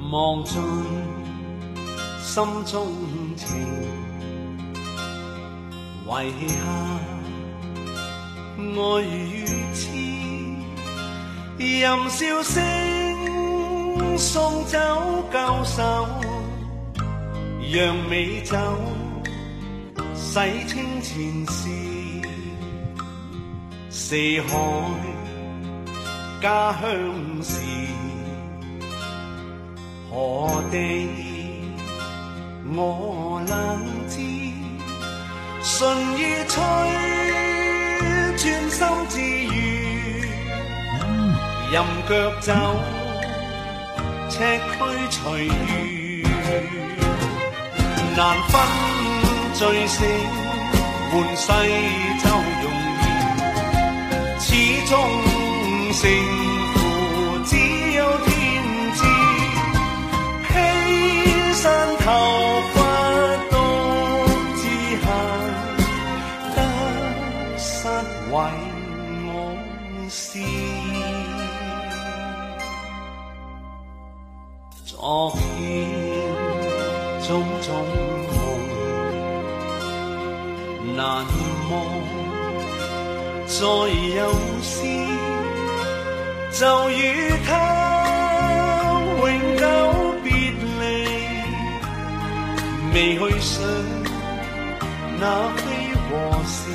望盡心中情，遺下愛與痴，任笑聲送走舊愁，讓美酒洗清前事，四海家鄉事，何地我能知？順意吹，專心自愈，任腳走，赤軀隨遇，難分醉醒，換世就容易，始終勝負只有天知，犧牲頭髮都知下，得失為我事。昨天種種夢難忘，再有時就與他永久別離，未去想那非和是。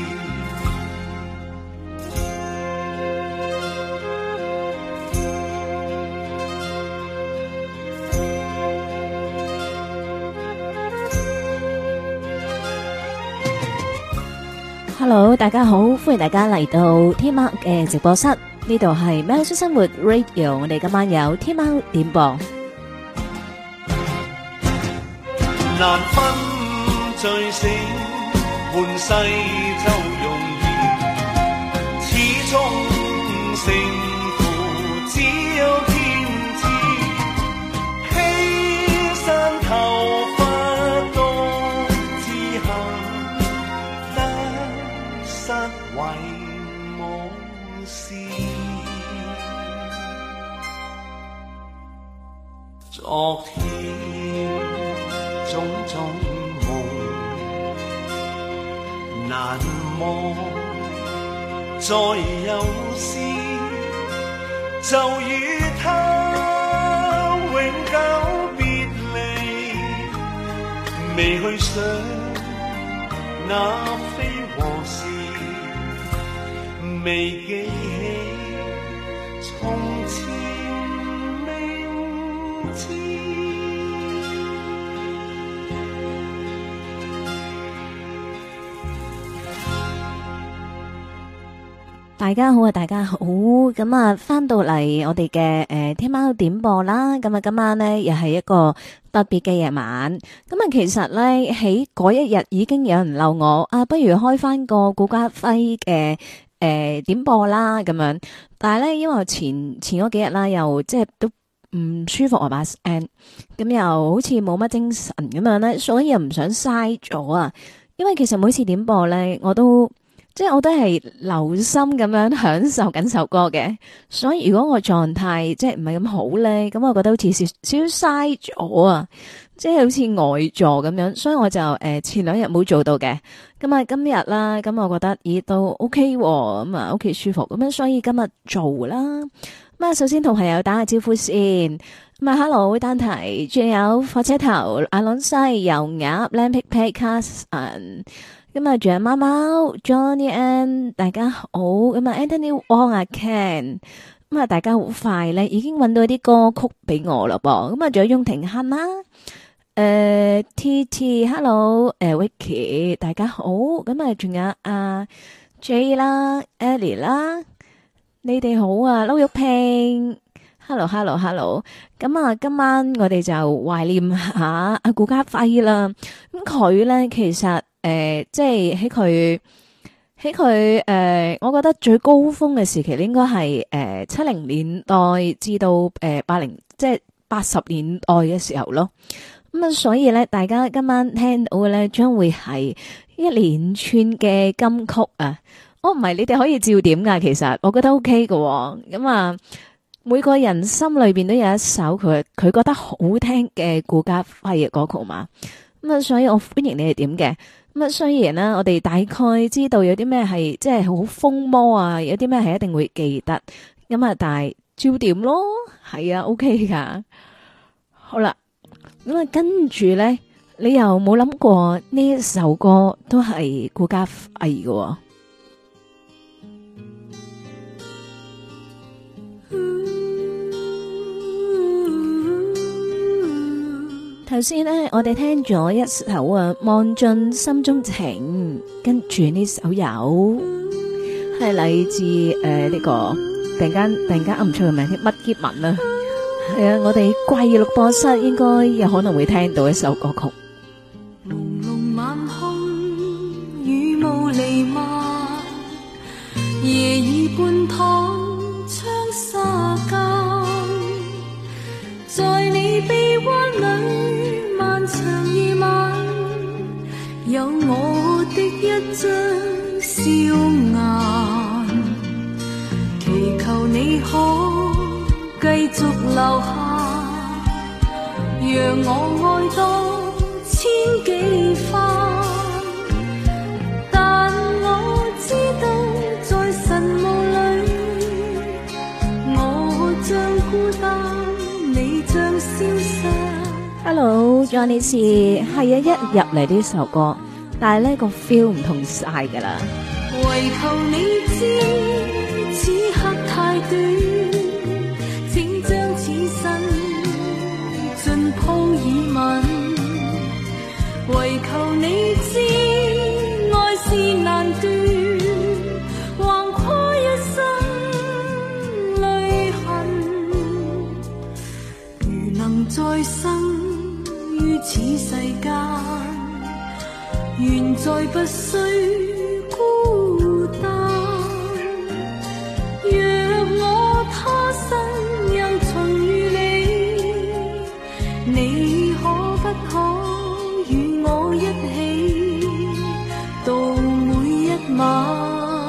Hello， 大家好，歡迎大家嚟到天喵嘅直播室，呢度係喵式生活 Radio， 我哋今晚有天喵點播。 難分醉醒，換世就容易，始終勝負只有天知，犧牲頭髮都知下，得失為我事。昨天種種夢難忘，再有時就與他永久別離，未去想那非和是，未記起從前明知。 大家好啊，大家好，咁啊，翻到嚟我哋嘅天喵點播啦，咁啊，今晚呢又係一個特別嘅夜晚，咁啊，其實咧喺嗰一日已經有人留我啊，不如開翻個顧嘉輝嘅點播啦，咁樣，但係咧因為前嗰幾日啦，又即係都唔舒服啊把聲，咁又好似冇乜精神咁樣咧，所以又唔想嘥咗啊，因為其實每次點播咧，我都係留心咁樣享受緊首歌嘅，所以如果我狀態即係唔係咁好咧，咁我覺得好似少少嘥咗啊，即係好似呆坐咁樣，所以我就前兩日冇做到嘅，咁啊今日啦，咁我覺得咦都 OK 喎，咁啊 OK 舒服，咁樣所以今日做啦，咁啊首先同朋友打下招呼先，咁啊 Hello 丹提，仲有火車頭、阿朗西、油鴨、靚皮皮、Carson。咁啊，仲有貓貓 Johnny Ann， 大家好。咁啊 Anthony Wong 啊 Ken， 咁啊大家好快咧，已經揾到啲歌曲俾我啦噃。咁啊，仲有翁庭亨啦，TT Hello， Vicky 大家好。咁啊，仲有阿 J 啦 ，Ellie 啦，你哋好啊，撈玉萍 ，Hello。咁啊，今晚我哋就懷念下阿顧嘉輝啦。咁佢咧其實。即係喺佢我覺得最高峰嘅時期應該係70年代至到80即係80年代嘅時候咯。咁啊，所以咧，大家今晚聽到嘅咧，將會係一連串嘅金曲啊！唔係你哋可以照點噶，其實我覺得 OK 嘅。咁啊， 每個人心裏邊都有一首佢覺得好聽嘅顧嘉輝嘅歌曲嘛。咁啊，所以我歡迎你哋點嘅。咁啊，雖然啦，我哋大概知道有啲咩係即係好風魔啊，有啲咩係一定會記得。咁啊，但係照點咯，係啊 ，OK 噶。好啦，咁啊，跟住咧，你又冇諗過呢一首歌都係顧嘉輝嘅？頭先咧，我哋聽咗一首啊，望盡心中情，跟住呢首有係嚟自呢個突然間噏唔出個名，乜結文啊，係啊，我哋貴錄播室應該有可能會聽到一首歌曲。 朦朧晚空，雨霧瀰漫，夜已半躺窗紗間，在你臂彎裏。長夜晚，有我的一張笑顏，祈求你可繼續留下，讓我愛多千幾番。但我知道在晨霧裏，我將孤單，你將消失。 Hello，Johnny C， 係啊，一入嚟呢首歌，但係呢個 feel 唔同晒噶啦。 唯求你知，此刻太短，請將此生盡鋪以吻。唯求你知，愛是難斷，橫跨一生淚痕。如能再生於此世間，願再不需孤單。若我他生又重遇你，你可不可與我一起度每一晚？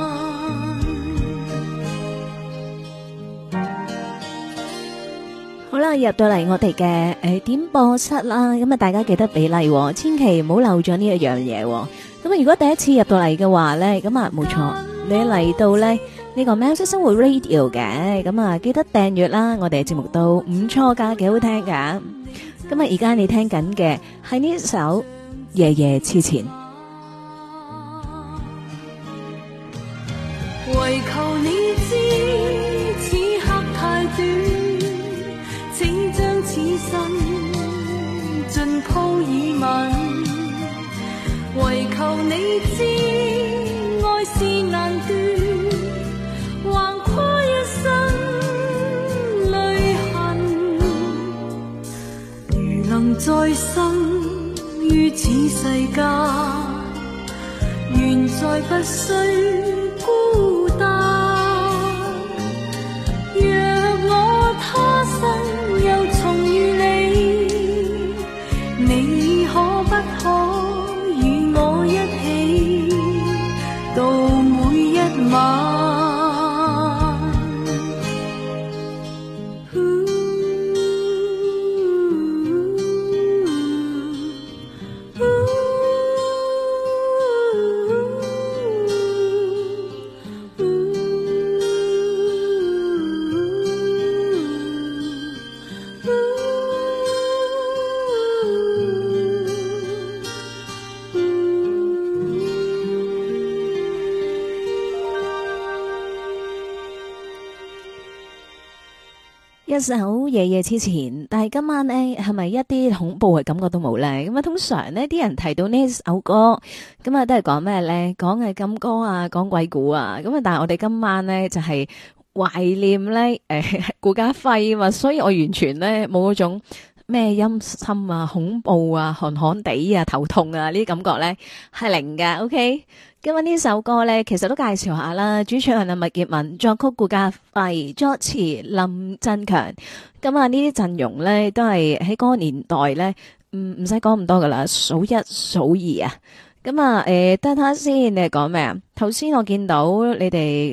好啦，入到嚟我哋嘅點播室啦，咁啊大家記得俾例，千祈唔好漏咗呢一樣嘢。咁啊，如果第一次入到嚟嘅話咧，咁啊冇錯，你嚟到咧呢個喵式生活 Radio 嘅，咁啊記得訂閱啦，我哋嘅節目都唔錯噶，幾好聽噶。咁啊，而家你聽緊嘅係呢首《夜夜痴纏》。 唯求你知，此刻太短。請將此生盡鋪以吻，唯求你知，愛是難斷，橫跨一生淚痕。如能再生於此世間，願再不需孤單。若我他生又重遇你，你可不可與我一起度每一晚？ 一首夜夜痴纏，但係今晚呢係咪一啲恐怖嘅感覺都冇呢？咁啊，通常呢啲人提到呢首歌，咁啊都係講咩呢？講係金歌啊，講鬼故啊，咁啊，但係我哋今晚呢就係懷念呢顧嘉輝啊嘛，所以我完全呢冇嗰種咩陰森啊、恐怖啊、寒寒地啊、頭痛啊呢啲感覺呢係零㗎。OK。今日呢首歌咧，其實都介紹下啦。主唱係麥潔文，作曲顧嘉輝，作詞林振強。咁啊，呢啲陣容咧都係喺嗰個年代咧，唔使講咁多噶啦，數一數二啊。咁啊，等下先，你係講咩啊？頭先我見到你哋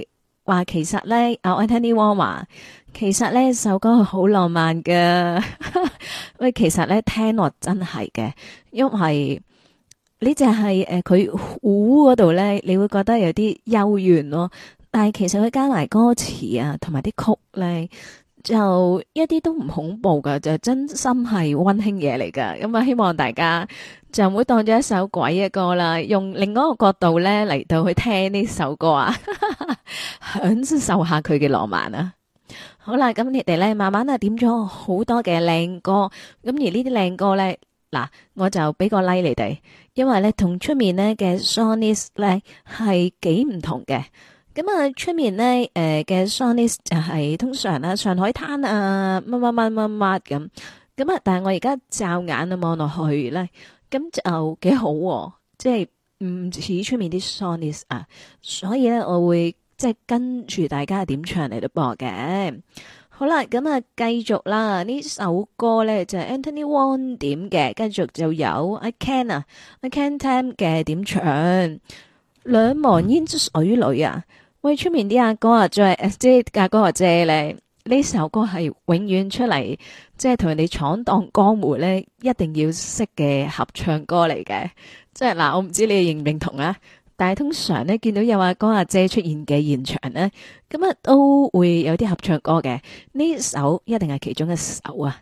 話其實咧，Anthony Wong 話其實呢首歌好浪漫㗎。喂，其實咧聽落真係嘅，因為呢只係佢鼓嗰度咧，你會覺得有啲幽怨咯。但係其實佢加埋歌詞啊，同埋啲曲咧，就一啲都唔恐怖噶，就真心係溫馨嘢嚟噶。咁啊，希望大家就唔會當咗一首鬼嘅歌啦，用另外一個角度咧嚟到去聽呢首歌啊，享受下佢嘅浪漫啊！好啦，咁你哋咧慢慢啊點咗好多嘅靚歌，咁而呢啲靚歌咧，嗱我就俾個 like 你哋，因為咧同出面咧嘅 songs 咧係幾唔同嘅。咁啊，出面咧嘅 songs 就係通常啊上海灘啊乜乜乜乜乜咁，咁啊但係我而家驟眼啊望落去咧，咁就幾好喎，即係唔似出面啲 songs 啊，所以咧我會即係跟住大家點唱嚟到播嘅。好啦，咁啊繼續啦，呢首歌咧就係 Anthony Wong 點嘅，繼續就有 I Can Tam 嘅點唱兩忘煙水裏啊。喂，出面啲阿哥啊，即係阿哥阿姐咧，呢首歌係永遠出嚟，即係同人哋闖蕩江湖咧，一定要識嘅合唱歌嚟嘅。即係嗱，我唔知你哋認唔認同啊？但係通常咧，見到有阿哥阿姐出現嘅現場咧，咁啊都會有啲合唱歌嘅。呢首一定係其中一首啊！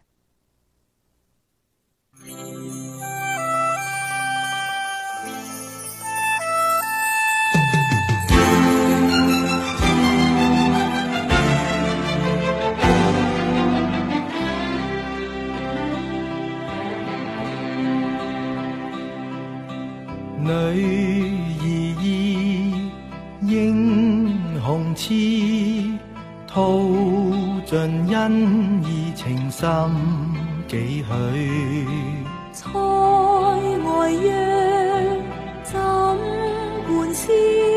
女兒意英雄痴，吐盡恩義情深幾許。 塞外約怎伴思，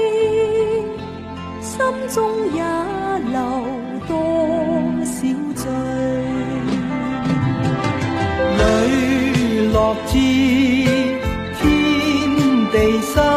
心中也留多少醉。 磊落知地心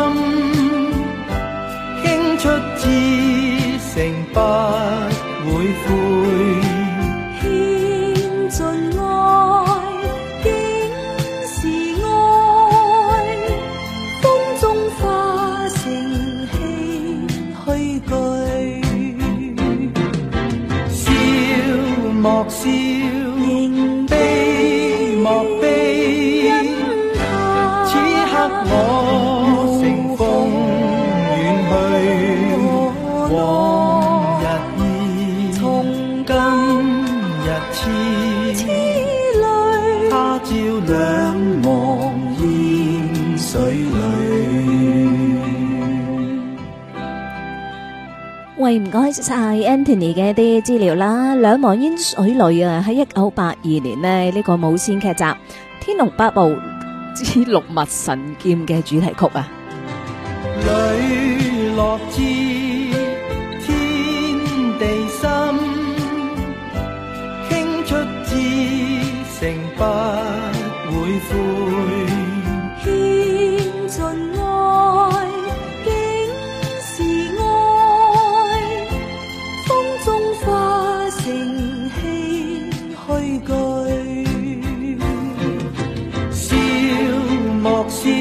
傾出至誠不會悔， 獻盡愛竟是愛，風中化成唏噓句， 笑莫笑，悲莫悲，此刻我乘風遠去，往日意，從今日痴淚，他朝兩忘煙水裏。 喂，唔該晒 Anthony 嘅啲資料啦，兩忘煙水裏啊，喺1982年呢，呢個無線劇集《天龍八部之六脈神劍》嘅主題曲啊。 磊落知天地心，傾出至誠不會悔， 獻盡愛竟是愛，風中化成唏噓句， 笑莫笑，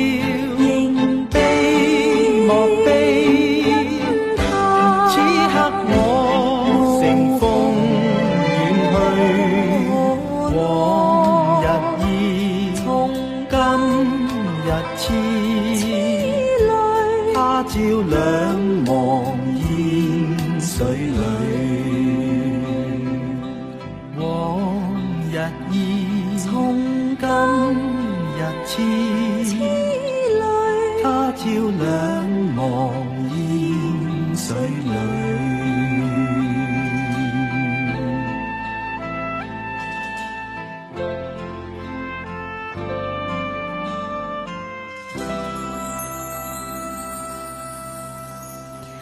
悲莫悲，此刻我乘風遠去，往日意，從今日痴淚，他朝兩忘煙水裏，往日意，從今日痴淚，他朝兩忘煙水裏。 係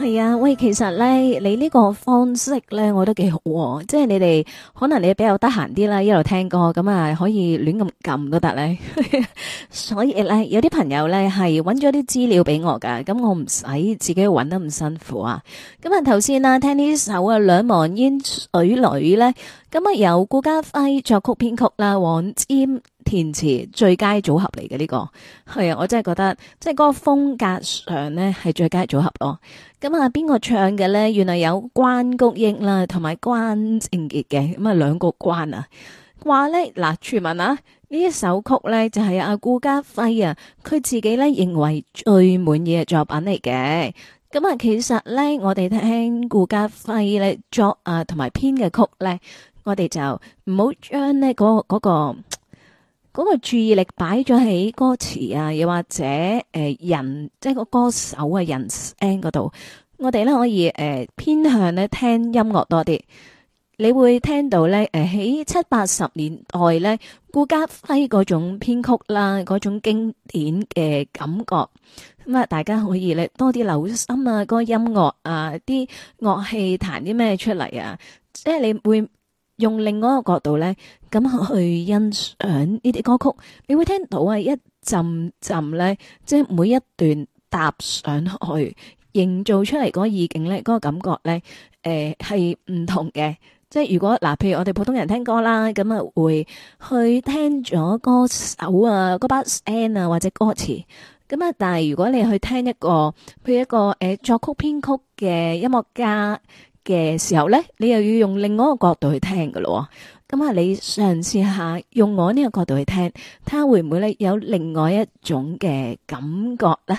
係啊，喂，其實咧，你呢個方式咧，我覺得幾好喎，即係你哋可能你比較得閒啲啦，一路聽歌咁啊，可以亂咁撳都得咧。所以咧，有啲朋友咧係揾咗啲資料俾我噶，咁我唔使自己揾得咁辛苦啊。咁啊，頭先啦，聽呢首啊《兩忘煙水裏》咧，咁啊由顧嘉輝作曲編曲啦，黃霑填詞，最佳組合嚟嘅呢個。係啊，我真係覺得即係嗰個風格上咧係最佳組合咯。咁啊，邊個唱嘅咧？原來有關菊英啦，同埋關正傑嘅，咁啊兩個關啊。話咧嗱，傳聞啊，呢一首曲咧就係阿顧嘉輝啊，佢自己咧認為最滿意嘅作品嚟嘅。咁啊，其實咧我哋聽顧嘉輝咧作啊同埋編嘅曲咧，我哋就唔好將呢嗰個注意力擺咗喺歌詞啊，又或者人即係個歌手嘅人聲嗰度，我哋咧可以偏向咧聽音樂多啲。你會聽到咧喺70、80年代咧顧嘉輝嗰種編曲啦，嗰種經典嘅感覺。咁啊，大家可以咧多啲留心啊，嗰個音樂啊，啲樂器彈啲咩出嚟啊，即係你會用另外一個角度咧，咁去欣賞呢啲歌曲，你會聽到啊一陣陣咧，即係每一段搭上去，營造出嚟嗰個意境咧，嗰個感覺咧，係唔同嘅。即係如果嗱，譬如我哋普通人聽歌啦，咁啊會去聽咗歌手啊嗰把聲啊或者歌詞，咁啊，但係如果你去聽一個譬如一個作曲編曲嘅音樂家嘅時候咧，你又要用另外一個角度去聽噶咯。咁啊，你嘗試下用我呢個角度去聽，睇下會唔會咧有另外一種嘅感覺咧？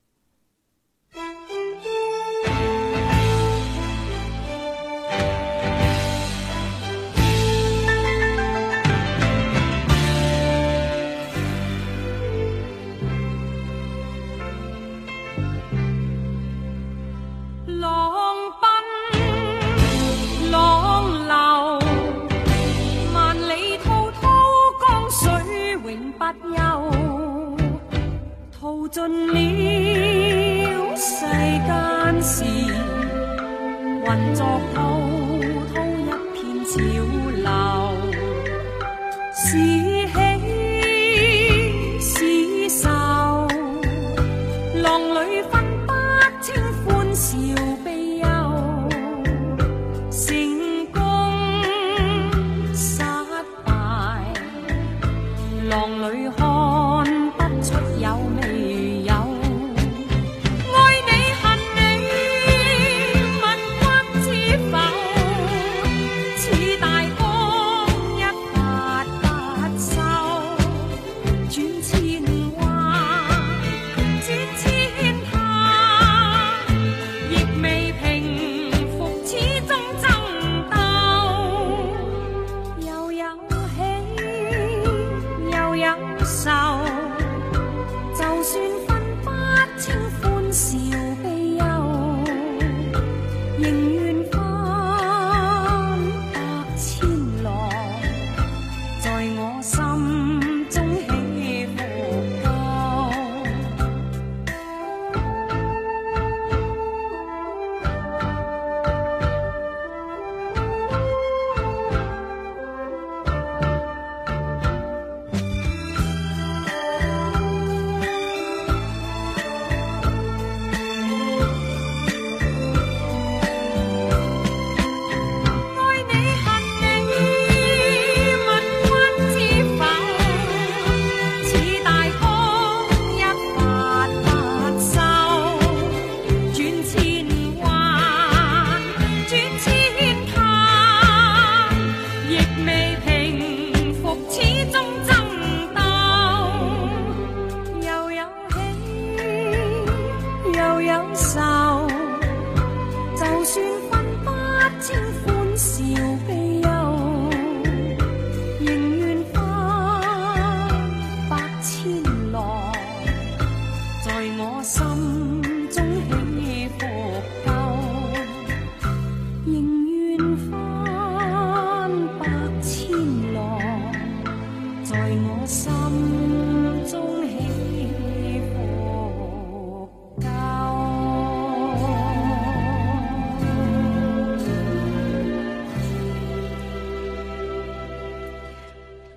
淘盡了世間事，混作滔滔一片潮流，是喜是愁，浪裏分不清歡笑悲憂，成功失敗，浪裏看不出有味。愛你恨你，問君知否？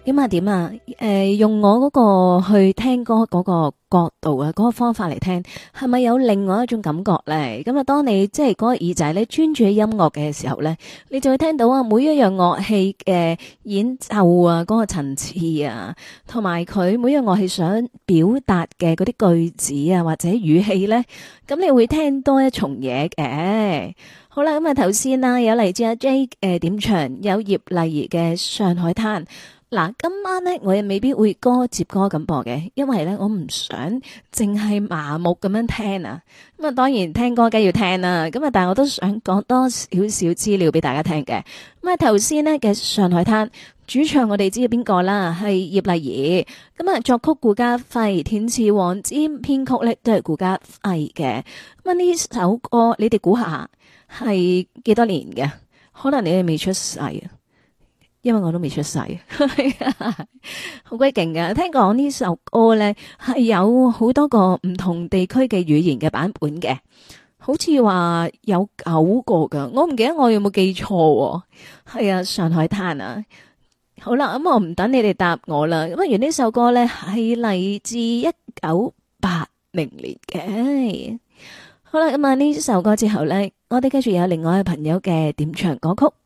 點啊點啊，用我嗰個去聽歌嗰個角度啊，嗰個方法嚟聽，係咪有另外一種感覺咧？咁啊，當你即係嗰個耳仔咧專注喺音樂嘅時候咧，你就會聽到啊每一樣樂器嘅演奏啊，嗰個層次啊，同埋佢每樣樂器想表達嘅嗰啲句子啊或者語氣咧，咁你會聽多一重嘢嘅。好啦，咁啊頭先啦有嚟自阿 J 點唱，有葉麗儀嘅《上海灘》。嗱，今晚咧我又未必會歌接歌咁播嘅，因為咧我唔想淨係麻木咁樣聽啊。咁啊，當然聽歌梗要聽啦。咁啊，但係我都想講多少少資料俾大家聽嘅。咁啊，頭先呢嘅《上海灘》主唱我哋知係邊個啦？係葉麗儀。咁啊，作曲顧嘉輝，填詞黃霑，編曲咧都係顧嘉輝嘅。咁啊，呢首歌你哋估下係幾多年嘅？可能你哋未出世啊。因為我都未出世，好鬼勁㗎。聽講呢首歌咧係有好多個唔同地區嘅語言嘅版本嘅，好似話有9個噶。我唔記得我有冇記錯。係啊，上海灘啊。好啦，咁我唔等你哋答我啦。咁原呢首歌咧係嚟自1980年嘅。好啦，咁啊呢首歌之後咧，我哋繼續有另外一位朋友嘅點唱歌曲。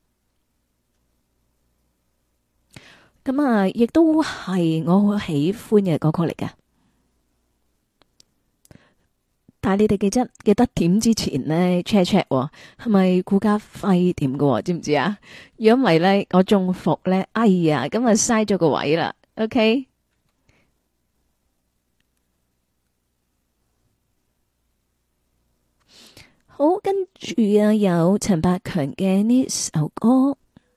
咁啊，亦都係我好喜歡嘅歌曲嚟㗎。但係你哋記得點之前呢 check 係咪顧嘉輝點㗎？知唔知啊？如果唔係咧，我中伏咧，哎呀，咁啊嘥咗個位啦。OK， 好，跟住啊有陳百強嘅呢首歌。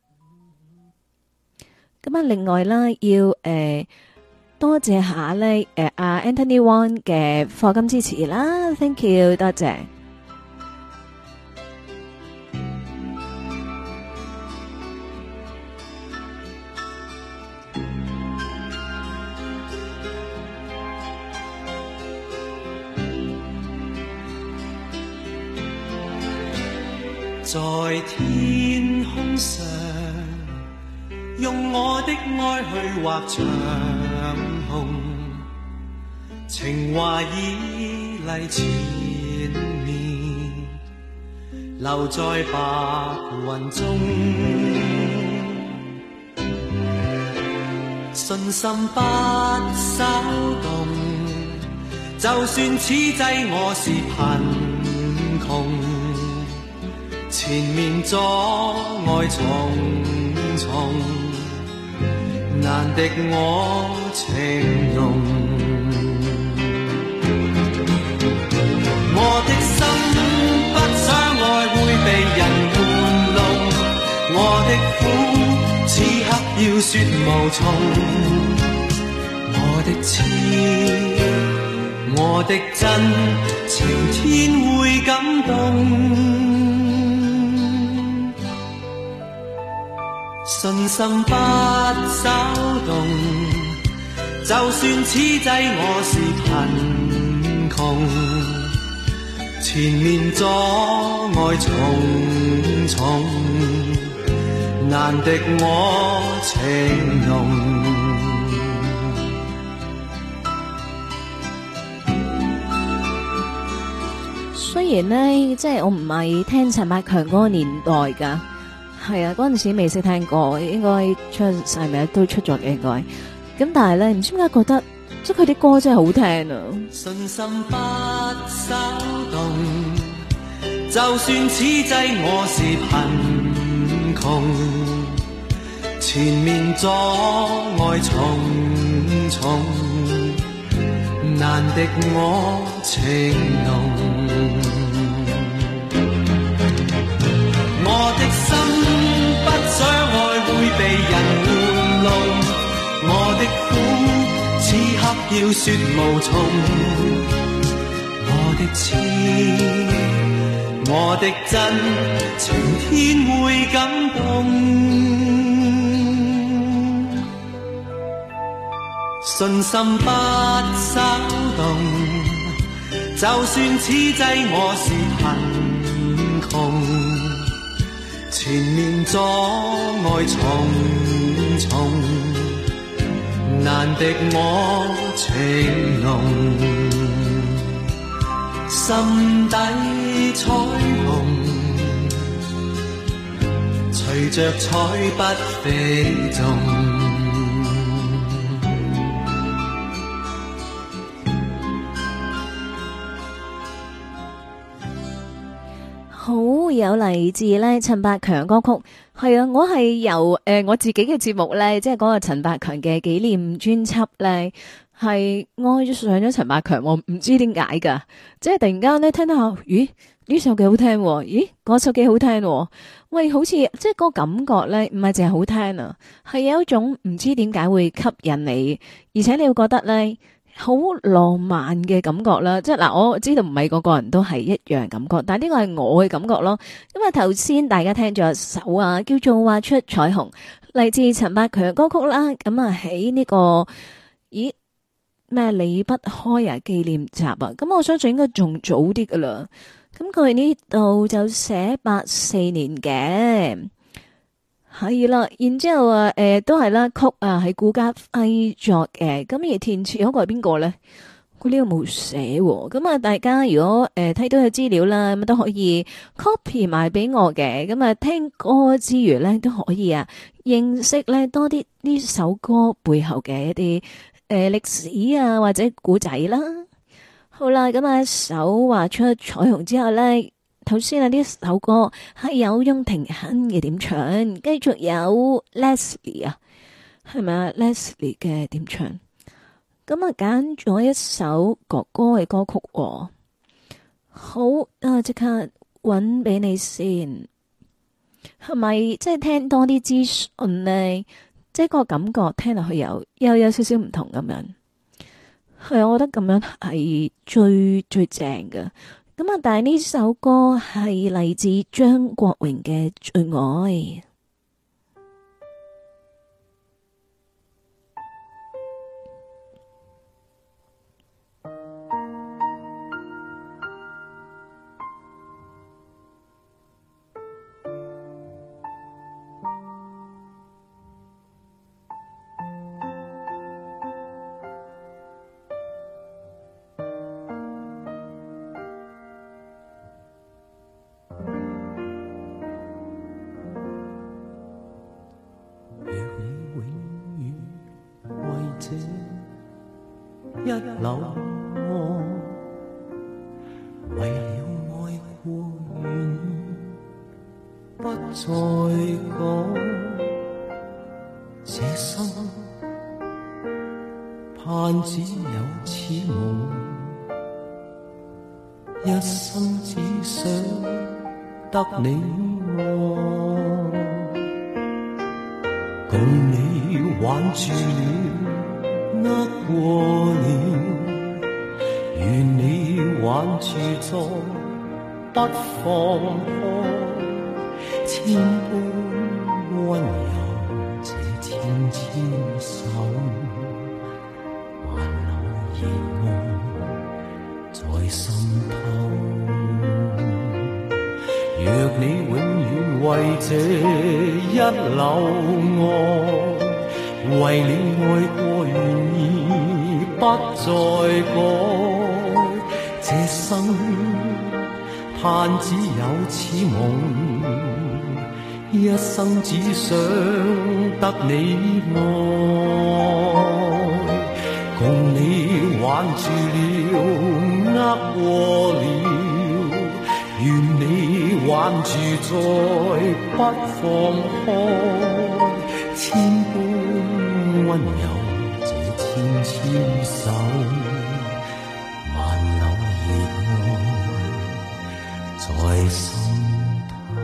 咁啊，另外啦，要多謝下咧，阿 Anthony Wong 嘅課金支持啦 ，thank you， 多謝。 在天空上。用我的愛去畫長虹，情話已嚟前面，留在白雲中，信心不稍動，就算此際我是貧窮，前面阻礙重重，難敵我情濃，我的心不想愛會被人玩弄，我的苦此刻要說無從，我的痴，我的真，晴天會感動，信心不稍動，就算此際我是貧窮，前面阻礙重重，難敵我情濃。 雖然呢，即係我唔係聽陳百強嗰個年代㗎。係啊，嗰陣時未識聽過，應該出晒名都出咗嘅應該。咁但係咧，唔知點解覺得即係佢啲歌真係好聽啊！ 信心不稍動，就算此際我是貧窮，前面阻礙重重，難敵我情濃。我的心不想愛會被人玩弄，我的苦此刻要說無從，我的痴，我的真，晴天會感動，信心不稍動，就算此際我是貧窮，前面阻礙重重， 難敵我情濃，心底彩虹，隨着彩筆飛縱。 好有嚟自咧陳百強歌曲，係啊，我係由我自己嘅節目咧，即係嗰個陳百強嘅紀念專輯咧，係愛上咗陳百強，我唔知點解噶，即係突然間咧聽到下，咦呢首幾好聽，咦嗰首幾好聽，喂好似即係嗰個感覺咧，唔係淨係好聽啊，係有一種唔知點解會吸引你，而且你會覺得咧。好浪漫嘅感覺啦，即係嗱，我知道唔係個個人都係一樣感覺，但係呢個係我嘅感覺咯。咁啊，頭先大家聽咗一首啊，叫做《畫出彩虹》，嚟自陳百強嘅歌曲啦。咁啊，喺呢個咦咩離不開啊紀念集啊，咁我相信應該仲早啲噶啦。咁佢呢度就寫84年嘅。係啦，然之後都係啦，曲啊係顧嘉輝作嘅，咁而填詞嗰個係邊個咧？佢呢度冇寫，咁啊大家如果睇到有資料啦，咁都可以 copy 埋俾我嘅，咁啊聽歌之餘咧都可以啊認識咧多啲呢首歌背後嘅一啲歷史啊或者古仔啦。好啦，咁啊首畫出彩虹之後咧。頭先啊，呢首歌係有翁廷亨嘅點唱，繼續有 Leslie 啊，係咪啊 Leslie 嘅點唱？咁啊揀咗一首哥哥嘅歌曲，好啊，即刻搵俾你先，係咪即係聽多啲資訊呢？即係個感覺聽落去又有少少唔同咁樣，係啊，我覺得咁樣係最正嘅。咁啊！但係呢首歌係嚟自張國榮嘅《最愛》。 一縷愛，為了愛過願意不再講，這生盼只有此夢，一生只想得你愛，共你挽住了握過了，願你挽住再不放開，千般溫柔這纖纖手，萬縷熱愛在心頭。若你永遠為這一縷愛，為你愛過願意不再改，這生盼只有此夢，一生只想得你愛，共你挽住了握過了，願你挽住再不放開，千般溫柔這纖纖手，萬縷熱愛在心頭。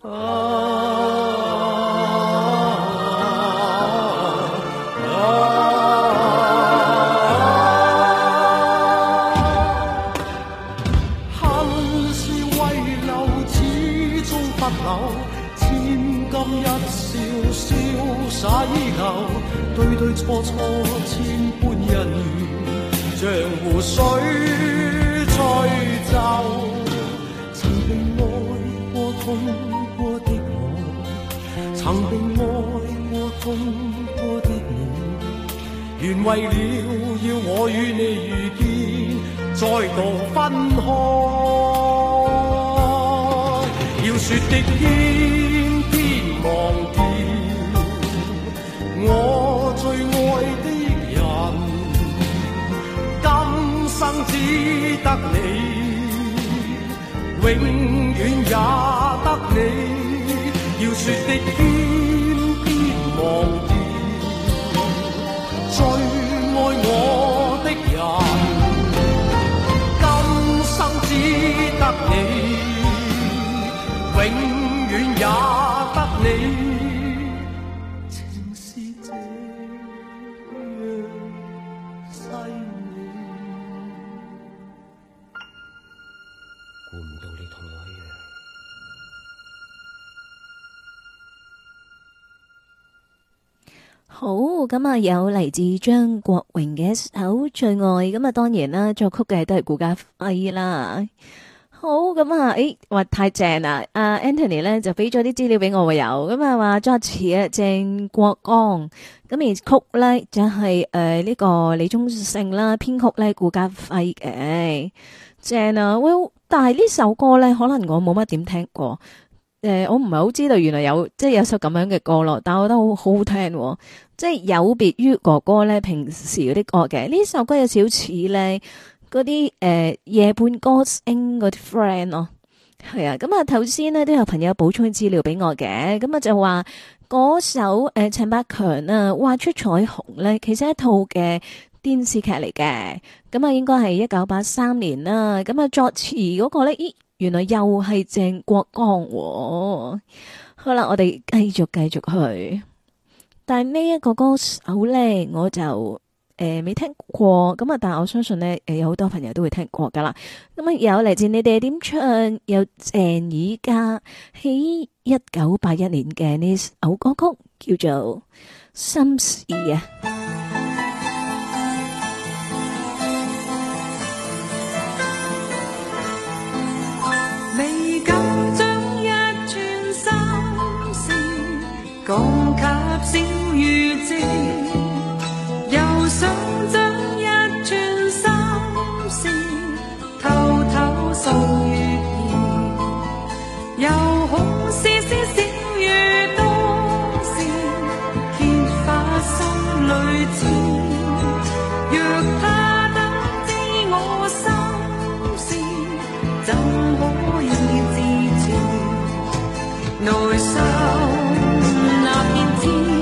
恨是遺留，始終不朽。千金一笑，瀟灑依舊。對對錯錯，千般恩怨，像湖水吹走。曾被愛過、痛過的我，曾被愛過、痛過的你，原為了要我與你遇見，再度分開。要說的偏偏忘掉，我最愛的人，今生只得你。永遠也得你，要說的偏偏忘掉，最愛我的人，今生只得你，永遠也得你，情是這樣細膩。估唔到你同我一樣。 好，咁啊有嚟自張國榮嘅一首《最愛》，咁啊當然啦，作曲嘅都係顧嘉輝啦。好，咁啊，話太正啦！阿 Anthony 咧就俾咗啲資料俾我喎，有咁啊話作詞啊鄭國江，咁而曲咧就係呢個李宗盛啦，編曲咧顧嘉輝嘅，正啊！喂，但係呢首歌咧，可能我冇乜點聽過，我唔係好知道原來有即係有首咁樣嘅歌咯，但係我覺得好好聽，即係有別於哥哥咧平時嗰啲歌嘅，呢首歌有少似咧。嗰啲夜半歌星嗰啲 friend 咯，係啊，咁啊頭先呢都有朋友補充資料俾我嘅，咁啊就話嗰首陳百強啊畫出彩虹咧，其實係一套嘅電視劇嚟嘅，咁啊應該係1983年啦，咁啊作詞嗰個咧，咦原來又係鄭國江喎，好啦，我哋繼續去，但係呢一個歌手咧，我就未聽過，咁啊，但係我相信呢，有好多朋友都會聽過噶啦。咁啊，有嚟自你哋點唱，有鄭以嘉喺1981年嘅呢首歌曲叫做《心事》啊。 未敢將一串心事講給小雨知。又想將一串心事偷偷訴月兒，又恐絲絲小雨多事揭發心裏知。若他得知我心事，怎可以自持內心那片天？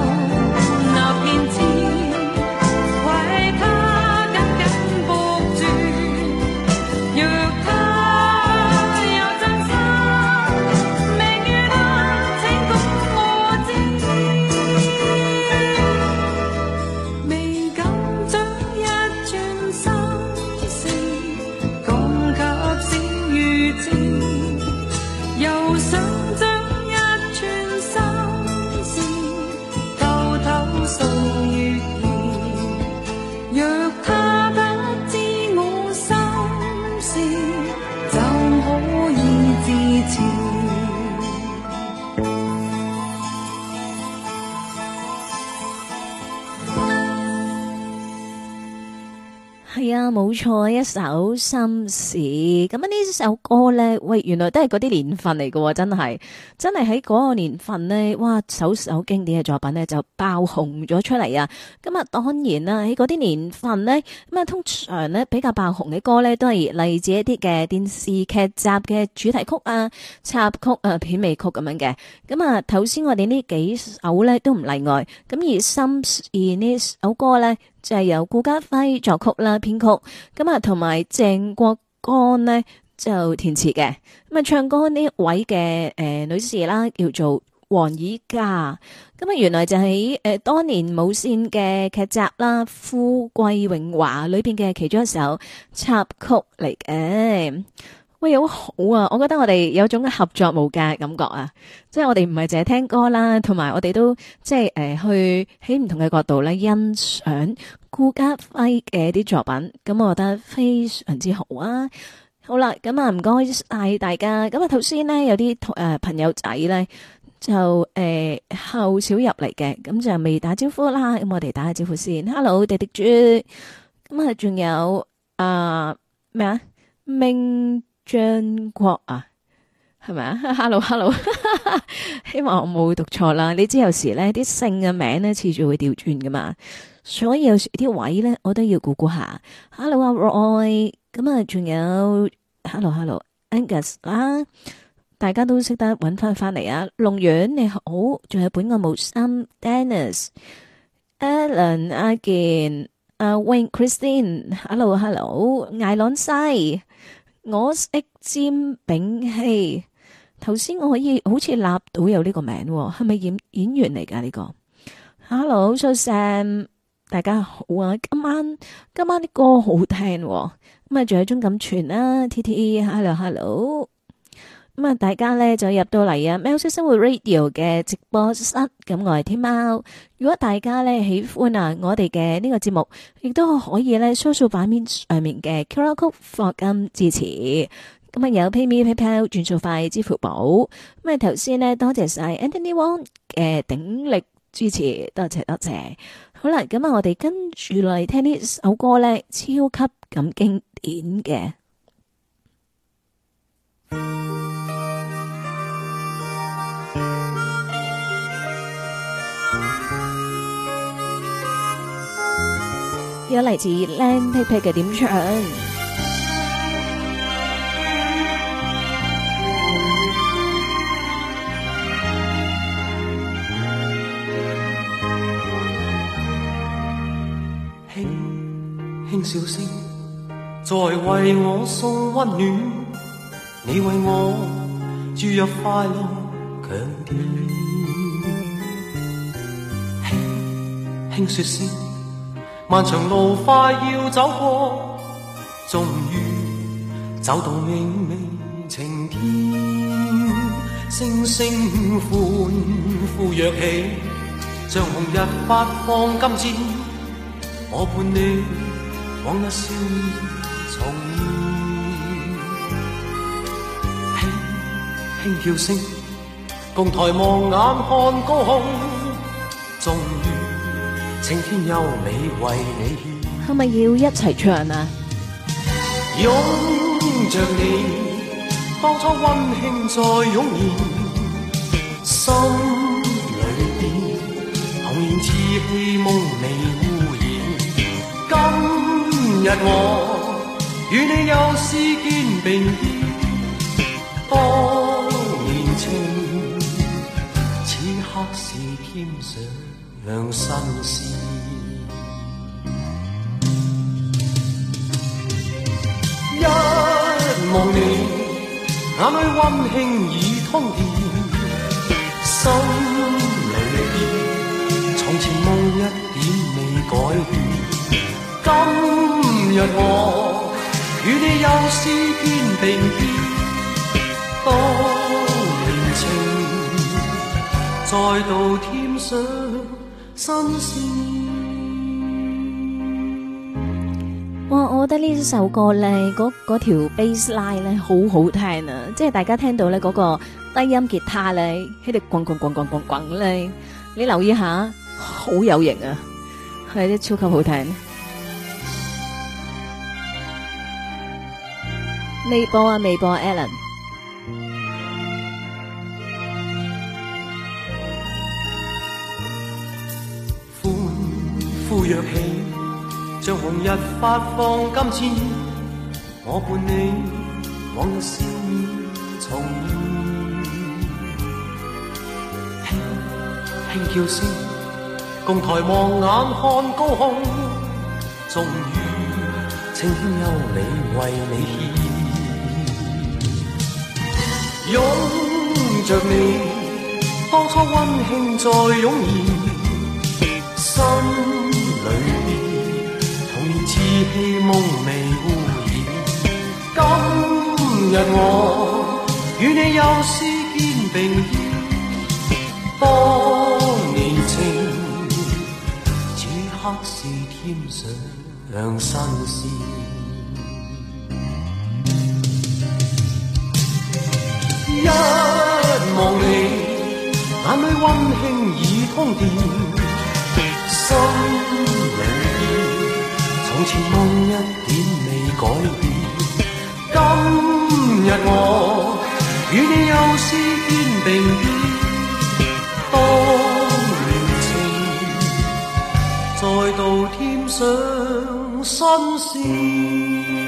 那片天，為他緊緊係啊，冇錯，一首心事。咁啊，呢首歌咧，喂，原來都係嗰啲年份嚟喎，真係喺嗰個年份呢，哇，首經典嘅作品呢就爆紅咗出嚟啊！咁啊，當然啦，喺嗰啲年份呢，咁啊，通常呢比較爆紅嘅歌呢，都係嚟自一啲嘅電視劇集嘅主題曲啊、插曲啊、片尾曲咁樣嘅。咁啊，頭先我哋呢幾首呢都唔例外。咁而心事呢首歌呢，就係由顧嘉輝作曲啦、編曲，咁啊同埋鄭國江呢就填詞嘅。咁啊唱歌呢位嘅女士啦，叫做黃以嘉。咁啊原來就喺當年無綫嘅劇集啦《富貴榮華》裏邊嘅其中一首插曲嚟嘅。喂，好好啊！我覺得我哋有種合作無間嘅感覺啊，即係我哋唔係淨係聽歌啦，同埋我哋都即係去喺唔同嘅角度咧欣賞顧嘉輝嘅啲作品，咁我覺得非常之好啊！好啦，咁啊唔該晒大家，咁啊頭先呢，有啲朋友仔咧就後少入嚟嘅，咁就未打招呼啦，咁我哋打下招呼先 ，Hello 迪迪豬，咁啊仲有咩啊明張國啊，係咪啊 ？Hello， 希望我冇讀錯啦。你知有時咧啲姓嘅名咧，次序會調轉噶嘛，所以有時啲位咧，我都要估估下。Hello 啊 Roy， 咁啊，仲有 Hello Angus 啦，大家都識得揾翻嚟啊。龍遠你好，仲有本我無心 Dennis、Alan 阿健、Wayne Christine，Hello， 艾朗西。我識詹炳希，頭先我可以好似立到有呢個名，係咪演員嚟噶呢個 ？Hello，So Sam， 大家好啊！今晚啲歌好聽，咁啊仲有鍾錦全啦 ，TT，Hello， 咁啊大家咧就入到嚟啊喵式生活 Radio 嘅直播室，咁我係天喵。如果大家咧喜歡啊我哋嘅呢個節目，亦都可以咧掃掃版面上面嘅 QR Code 課金支持。咁啊有 PayMe PayPal 轉數快支付寶。咁啊頭先呢，多謝晒 Anthony Wong 嘅鼎力支持，多謝。好啦，咁啊我哋跟住嚟聽呢首歌咧，超級咁經典嘅。有嚟自靚皮皮嘅點唱， 輕輕笑聲，在為我送溫暖，你為我注入快樂強電，輕輕說聲。漫長路快要走過，終於走到明媚晴天，星星歡呼躍起，像紅日發放金箭，我伴你往日少年重現，輕輕叫聲，共抬望眼看高空，終於青天優美為你獻， 係咪要一齊唱啊？ 擁着你，當初溫馨再湧現，心裏邊童年稚氣夢未污染。今日我與你又試肩並肩，當年情，此刻是添上新鮮，一望你眼裏溫馨已通電，心裏邊從前夢一點未改變。今日我與你又試肩並肩，當年情再度添上新鮮。 哇！我覺得呢首歌咧，嗰條 bass line 咧好好聽啊！即係大家聽到咧嗰個低音吉他咧喺度滾咧，你留意下，好有型啊！係啲超級好聽。 未播啊，未播啊 Alan。 歡呼躍起，像紅日發放金箭，我伴你往日笑面重現，輕輕叫聲，共抬望眼看高空，終於清幽美為你獻，擁着你，當初溫馨再湧現。心裏童年稚氣夢未污染，今日我與你又是肩並肩，當年情此刻是添上新鮮，一望你眼裏溫馨已通電，心裏從前夢一點未改變，今日我與你又是肩並肩，當年情再度添上新鮮。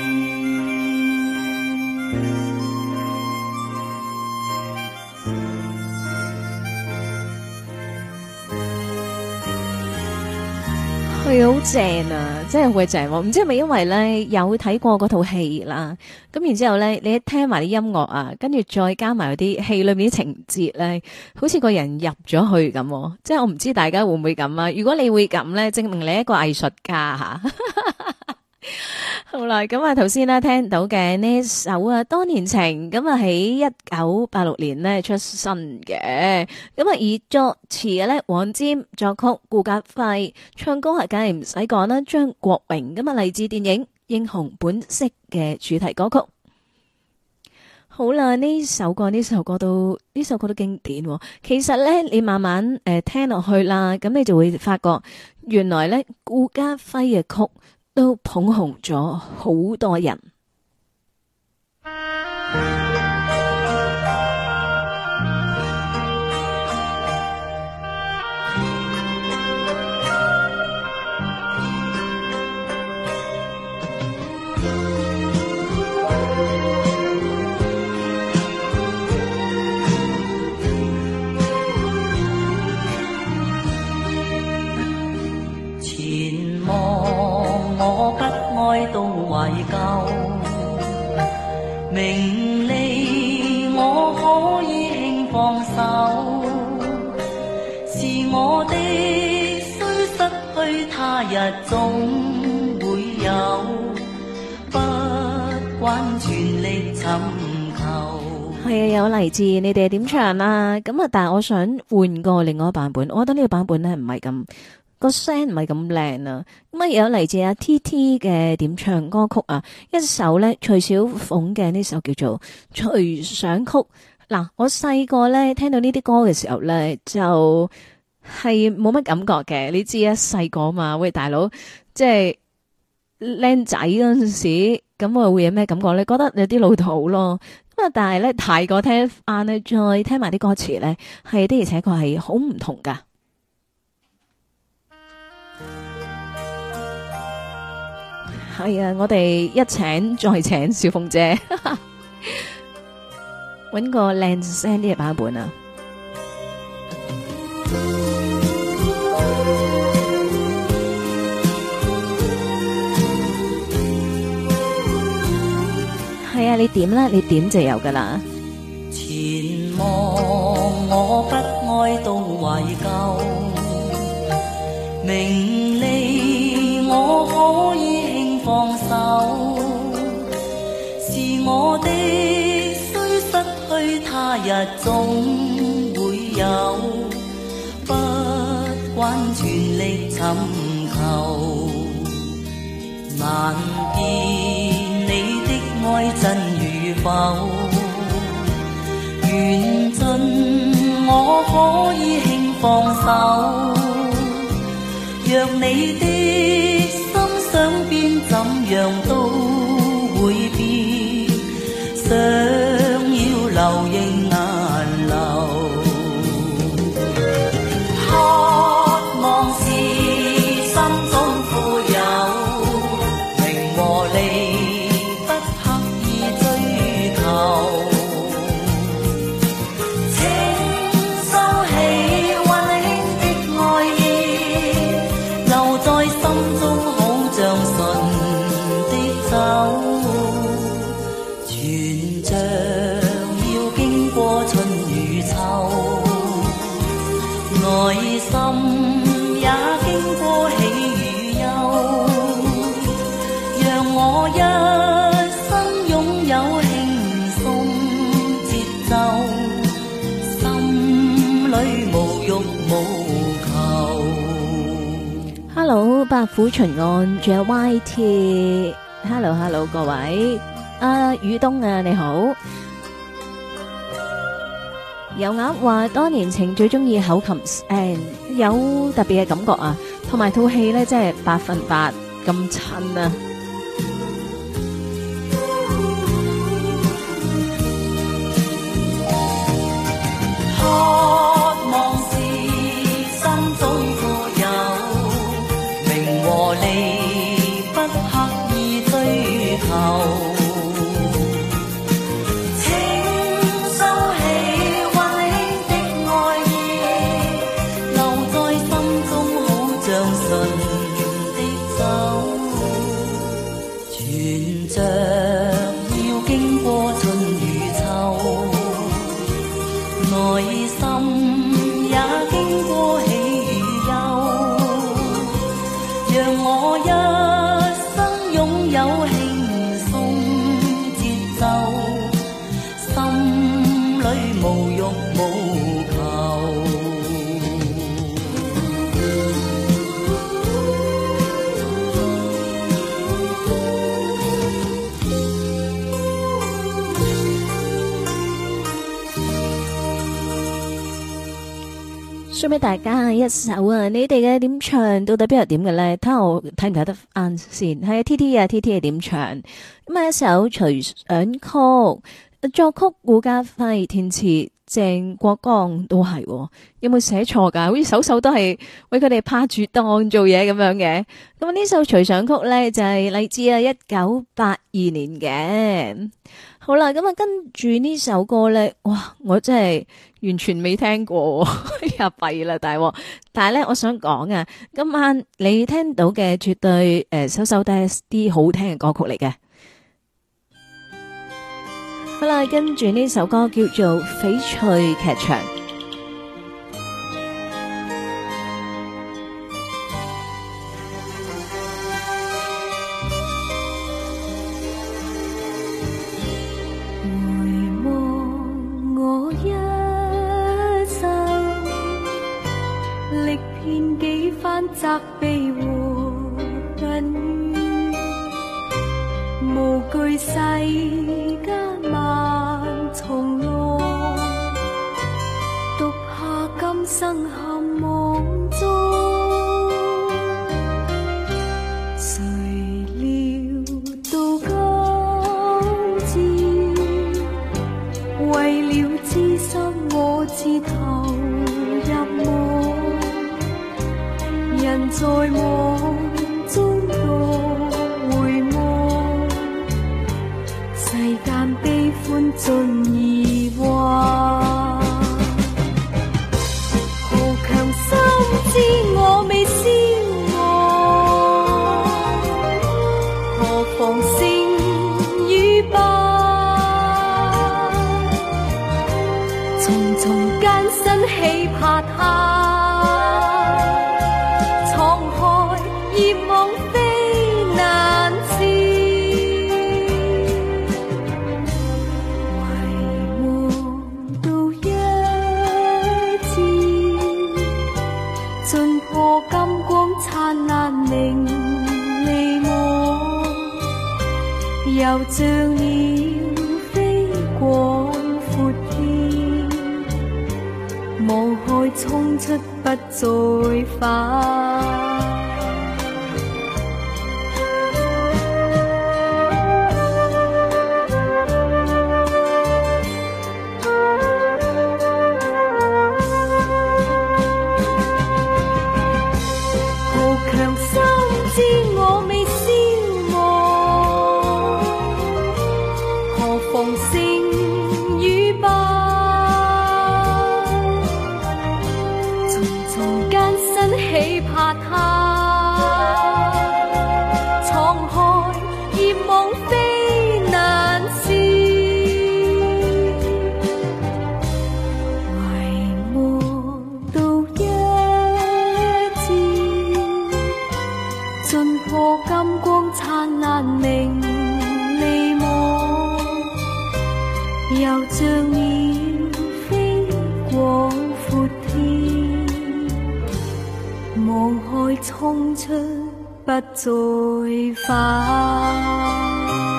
佢好正啊，真係好正喎！唔知係咪因為咧有睇過嗰套戲啦，咁然之後咧你一聽埋啲音樂啊，跟住再加埋嗰啲戲裏面啲情節咧，好似個人入咗去咁。即係我唔知大家會唔會咁啊？如果你會咁咧，證明你係一個藝術家吓。好啦，咁啊頭先咧聽到嘅呢首啊多年情，咁啊喺1986年咧出身嘅，咁啊而作詞嘅咧黃霑，作曲顧嘉輝，唱歌係梗係唔使講啦，張國榮，咁啊嚟自電影《英雄本色》嘅主題歌曲。好啦，呢首歌都經典喎。其實咧你慢慢聽落去啦，咁你就會發覺原來咧顧嘉輝嘅曲都捧紅咗好多人。 前望我不愛到懷舊，名利我可以輕放手，是我的雖失去他日總會有，不慣全力尋求。 係啊，有嚟自你哋點唱啦，咁啊，但係我想換個另外一個版本，我覺得呢個版本咧唔係咁。個聲唔係咁靚啊，咁啊有嚟自阿 TT 嘅點唱歌曲啊，一首咧徐小鳳嘅呢首叫做《隨想曲》。嗱，我細個咧聽到呢啲歌嘅時候咧，就係冇乜感覺嘅。你知啊，細個嘛，喂大佬，即係靚仔嗰陣時，咁我會有咩感覺咧？覺得有啲老土咯。咁啊，但係咧大個聽翻咧，再聽埋啲歌詞咧，係的而且確係好唔同噶。係啊，我哋一請再請小鳳姐，搵個靚聲啲嘅版本啊！係啊，你點啦？你點就有噶啦。 前望我不愛到懷舊，名利我可以放手，是我的雖失去他日總會有，不慣全力尋求，難辨你的愛真與否，緣盡我可以輕放手，若你的想變怎樣都會變， 在心中好像純的酒，全像要經過春與秋，內心也經過喜與憂，讓我一生擁有輕鬆節奏，心裏無欲無求。 Hello， 白虎巡案，仲有 YT。Hello， 各位，宇東啊，你好。有鴨話多年前最中意口琴聲，有特別嘅感覺啊，同埋套戲咧，真係100%咁襯啊！ 渴望是心中個有，名和利不刻意追求。 送俾大家一首啊！你哋嘅點唱到底邊度點嘅咧？睇下我睇唔睇得啱先。係啊 ，T 係點唱？咁啊，一首隨想曲，作曲顧嘉輝，填詞鄭國江都係、哦。有冇寫錯噶？好似首首都係為佢哋拍住檔做嘢咁樣嘅。咁呢首隨想曲咧就係嚟自1982年嘅。好啦，咁啊，跟住呢首歌咧，哇，我真係完全未聽過，又弊啦，大鑊！但係咧，我想講啊，今晚你聽到嘅絕對首首都係啲好聽嘅歌曲嚟嘅。好啦，跟住呢首歌叫做《翡翠劇場》。 責備和恨怨，無懼世間萬重浪，獨下今生陷網中。誰料到今朝，為了知心我自投入夢。人在夢中多回望，世間悲歡盡已幻。豪強心知我未消亡，何妨勝與敗？重重艱辛起拍下。又像鳥飛過闊天，無害衝出不再返。怕他盡破金光燦爛明利網，又像鳥飛過闊天，望海衝出不再返。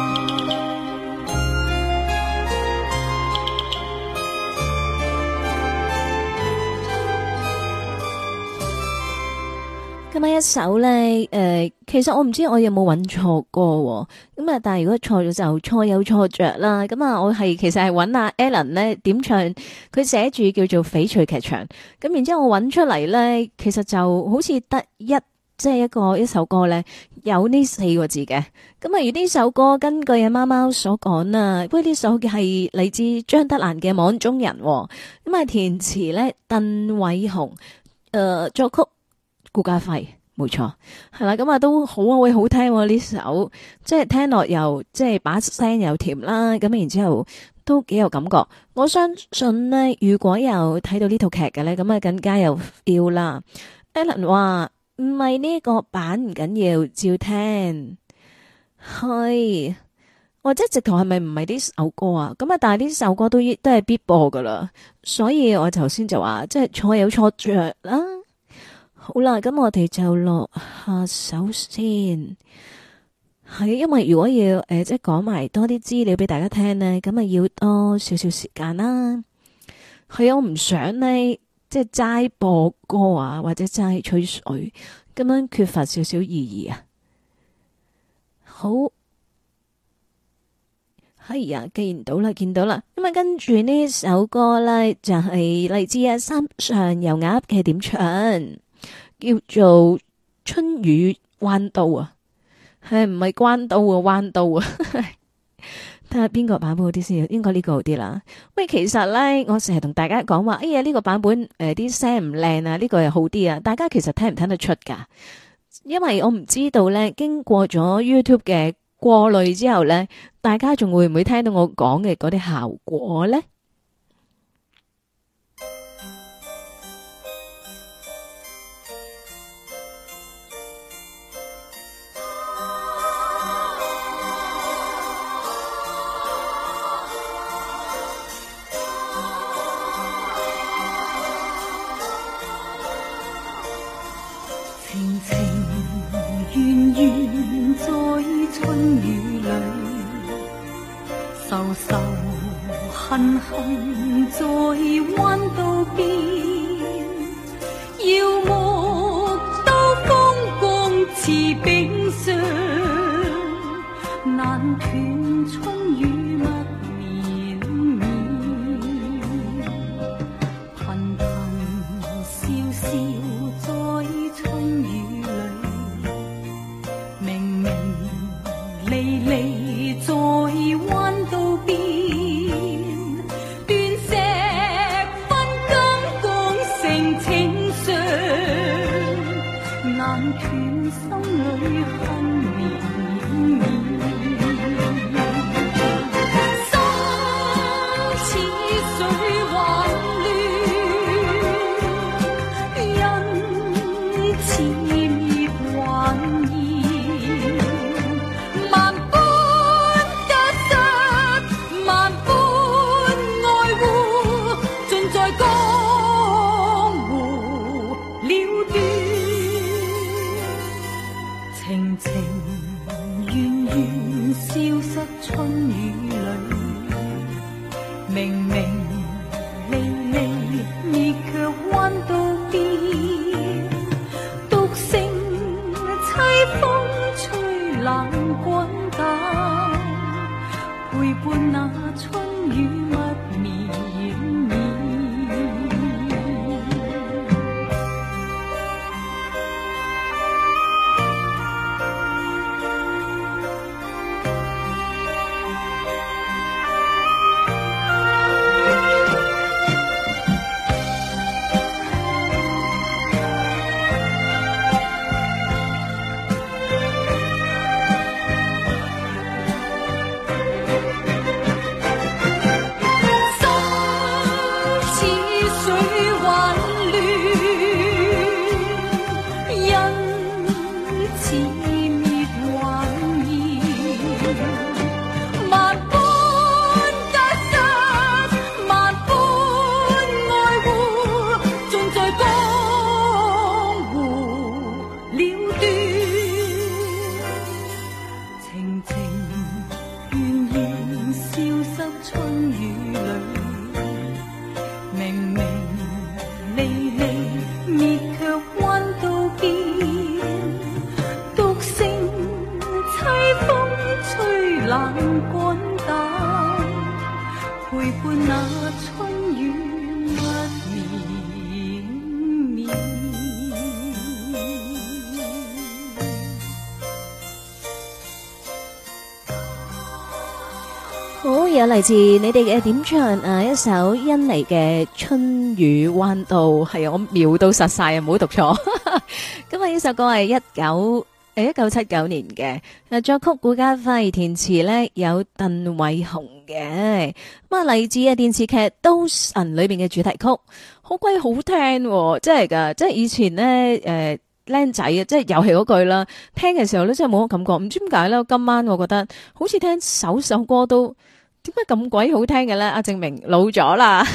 今晚一首咧，其實我唔知我有冇揾錯歌喎，咁啊，但係如果錯咗就錯有錯着啦。咁啊，我其實係揾阿 Alan 咧點唱，佢寫住叫做翡翠劇場，咁然之後我揾出嚟咧，其實就好似得即係一首歌咧有呢4個字嘅。咁啊，而呢首歌根據阿貓貓所講啊，喂，呢首係嚟自張德蘭嘅《網中人》，咁啊填詞咧鄧偉雄，作曲顧嘉輝，冇錯，係啦，咁啊都好啊，會好聽呢首，即係聽落又即係把聲又甜啦，咁然之後都幾有感覺。我相信呢，如果有睇到呢套劇嘅呢，咁啊更加有 feel 啦。Alan 話唔係呢個版唔緊要，照聽，係或者直頭係咪唔係呢首歌啊？咁啊，但係呢首歌都係必播噶啦，所以我頭先就話即係錯有錯着啦。好啦，咁我哋就落下首先，係因為如果要即係講埋多啲資料俾大家聽呢，咁啊要多少少時間啦。係我唔想呢，即係齋播歌啊，或者齋吹水，咁樣缺乏少少意義啊。好，係呀，見到啦，咁啊跟住呢首歌呢，就係嚟自啊三上油鴨嘅點唱。叫做春雨彎刀啊，係唔係關刀啊？彎刀啊，睇下邊個版本好啲先，應該呢個好啲啦。喂，其實咧，我成日同大家講話，哎呀呢個版本啲聲唔靚啊，呢個又好啲啊。大家其實聽唔聽得出噶？因為我唔知道咧，經過咗 YouTube 嘅過濾之後咧，大家仲會唔會聽到我講嘅嗰啲效果咧？ 愁愁恨恨在彎道邊，耀目兜風光似冰霜，難斷春雨密綿綿，頻頻笑笑在春雨裏，明明離離在彎道邊，斷石分金剛成情傷，難斷心裏恨綿綿。春雨裏，明明離離，亦卻彎道邊，獨剩凄風吹冷滾淡，陪伴那春雨密綿綿。 伴那春雨不眠眠。 好，有嚟自你哋嘅點唱一首甄妮嘅《春雨彎道》，係啊，我瞄到實晒啊，唔好讀錯。咁啊，呢首歌係1979年嘅，作曲顧嘉輝，填詞呢有鄧偉雄嘅。咁啊，嚟自電視劇《刀神》裏邊嘅主題曲，好鬼好聽喎，真係噶，即係以前呢。僆仔啊，即係又係嗰句啦。聽嘅時候咧，真係冇乜感覺，唔知點解咧。今晚我覺得好似聽首歌都點解咁鬼好聽嘅咧？阿證明老咗啦，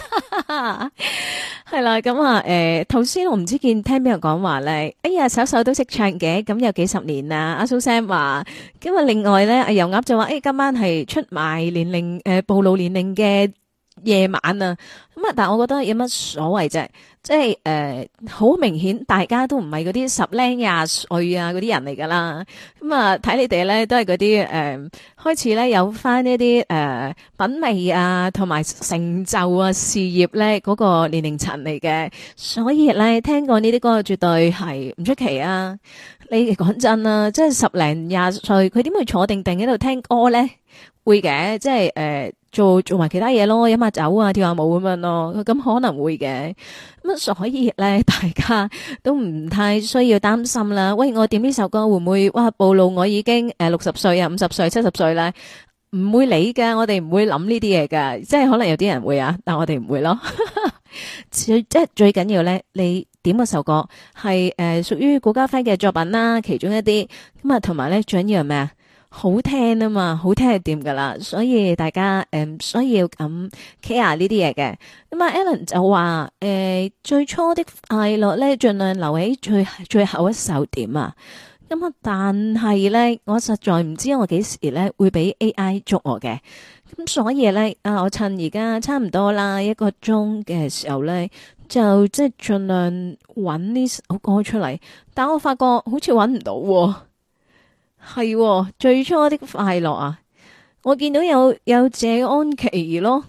係啦。咁啊，頭先我唔知見聽邊個講話咧，哎呀，首都識唱嘅，咁有幾十年啦。阿蘇 Sam 話，咁啊，另外咧，阿油鴨就話，今晚係出賣年齡暴露年齡嘅夜晚啊。咁啊，但係我覺得有乜所謂啫？即係好明顯，大家都唔係嗰啲10零20歲啊嗰啲人嚟噶啦。咁啊，睇你哋咧都係嗰啲開始咧有翻呢啲品味啊，同埋成就啊事業咧嗰個年齡層嚟嘅。所以咧聽過呢啲歌絕對係唔出奇啊！你講真啦，即係10零20歲，佢點會坐定定喺度聽歌咧？會嘅，即係做埋其他嘢咯，飲下酒啊，跳下舞咁樣咯，咁可能會嘅。咁所以咧，大家都唔太需要擔心啦。喂，我點呢首歌會唔會暴露我已經60歲啊、50歲、70歲咧？唔會理㗎，我哋唔會諗呢啲嘢㗎。即係可能有啲人會啊，但我哋唔會咯。即係最緊要咧，你點嗰首歌係屬於顧嘉輝嘅作品啦，其中一啲咁啊，同埋咧最緊要係咩啊？好聽啊嘛，好聽係掂噶啦，所以大家唔需要咁 care 呢啲嘢嘅。咁啊 Alan 就話最初的快樂咧，盡量留喺最後一首點啊。咁啊，但係咧，我實在唔知我幾時咧會俾 AI 捉我嘅。咁所以咧我趁而家差唔多啦1個鐘嘅時候咧，就即係盡量揾呢首歌出嚟。但我發覺好似揾唔到喎。係最初的快樂啊！我見到有謝安琪咯，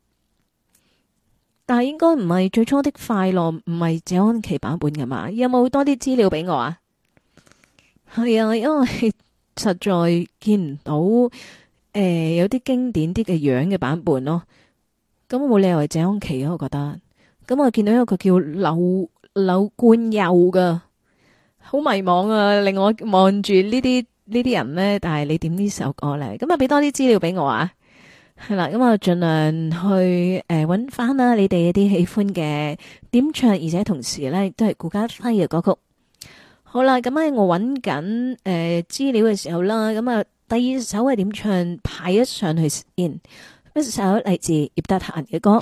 但係應該唔係最初的快樂，唔係謝安琪版本噶嘛？有冇多啲資料俾我啊？係啊，因為實在見唔到有啲經典啲嘅樣嘅版本咯。咁冇理由係謝安琪啊，我覺得。咁我見到有個叫柳冠佑噶，好迷茫啊！令我望住呢啲人呢，但係你點呢首歌呢？咁啊，俾多啲資料俾我啊，係啦，咁啊，盡量去揾翻啦，你哋一啲喜歡嘅點唱，而且同時呢都係顧嘉輝嘅歌曲。好啦，咁喺我揾緊資料嘅時候啦，咁啊，第二首係點唱排一上去先，一首嚟自葉德嫻嘅歌。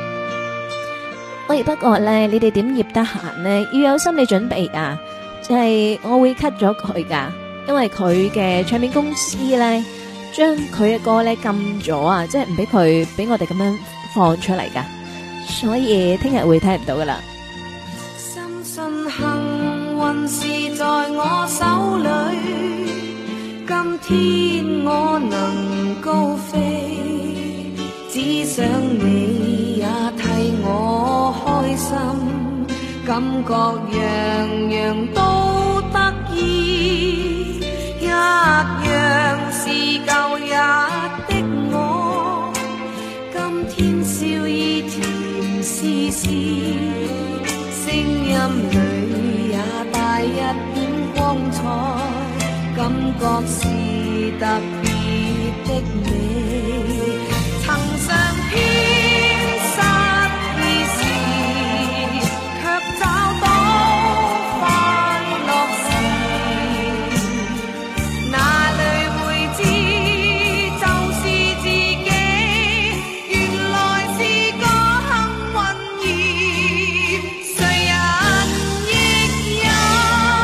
喂，不過呢，你哋點葉德嫻呢？要有心理準備啊，就係我會 cut 咗佢噶。因為佢嘅唱片公司咧，將佢嘅歌咧禁咗啊，即係唔俾我哋咁樣放出嚟噶，所以聽日會聽唔到噶啦。 深信幸運是在我手裏，今天我能高飛，只想你也替我開心，感覺樣樣都得意。一樣是舊日的我，今天笑意甜絲絲，聲音裏也帶一點光彩，感覺是特別的美，曾嘗遍失意時，卻找到快樂時。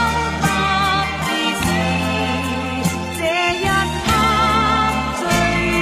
最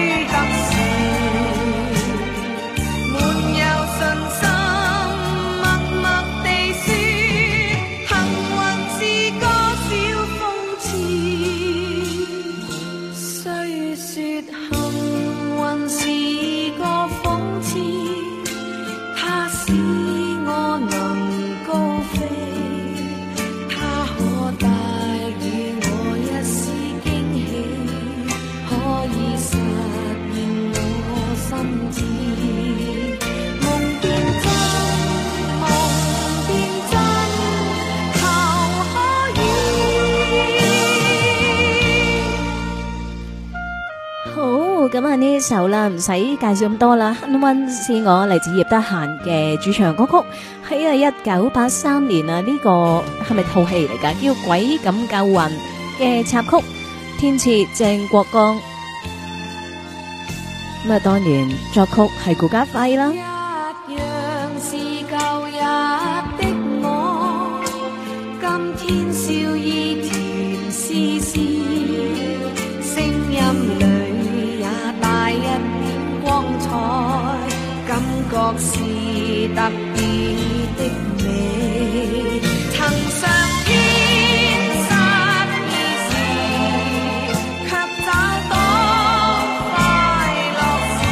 咁啊呢首啦，唔使介紹咁多啦。幸運是我嚟自葉德嫻嘅主唱歌曲，喺1983年啊，呢個係咪套戲嚟噶？叫《鬼咁救運》嘅插曲，填詞鄭國江。咁啊，當然作曲係顧嘉輝啦。 一樣是舊日的我，今天笑意甜絲絲，聲音裏也帶一點光彩，感覺是特別的美。曾相見失意時，卻找到快樂時，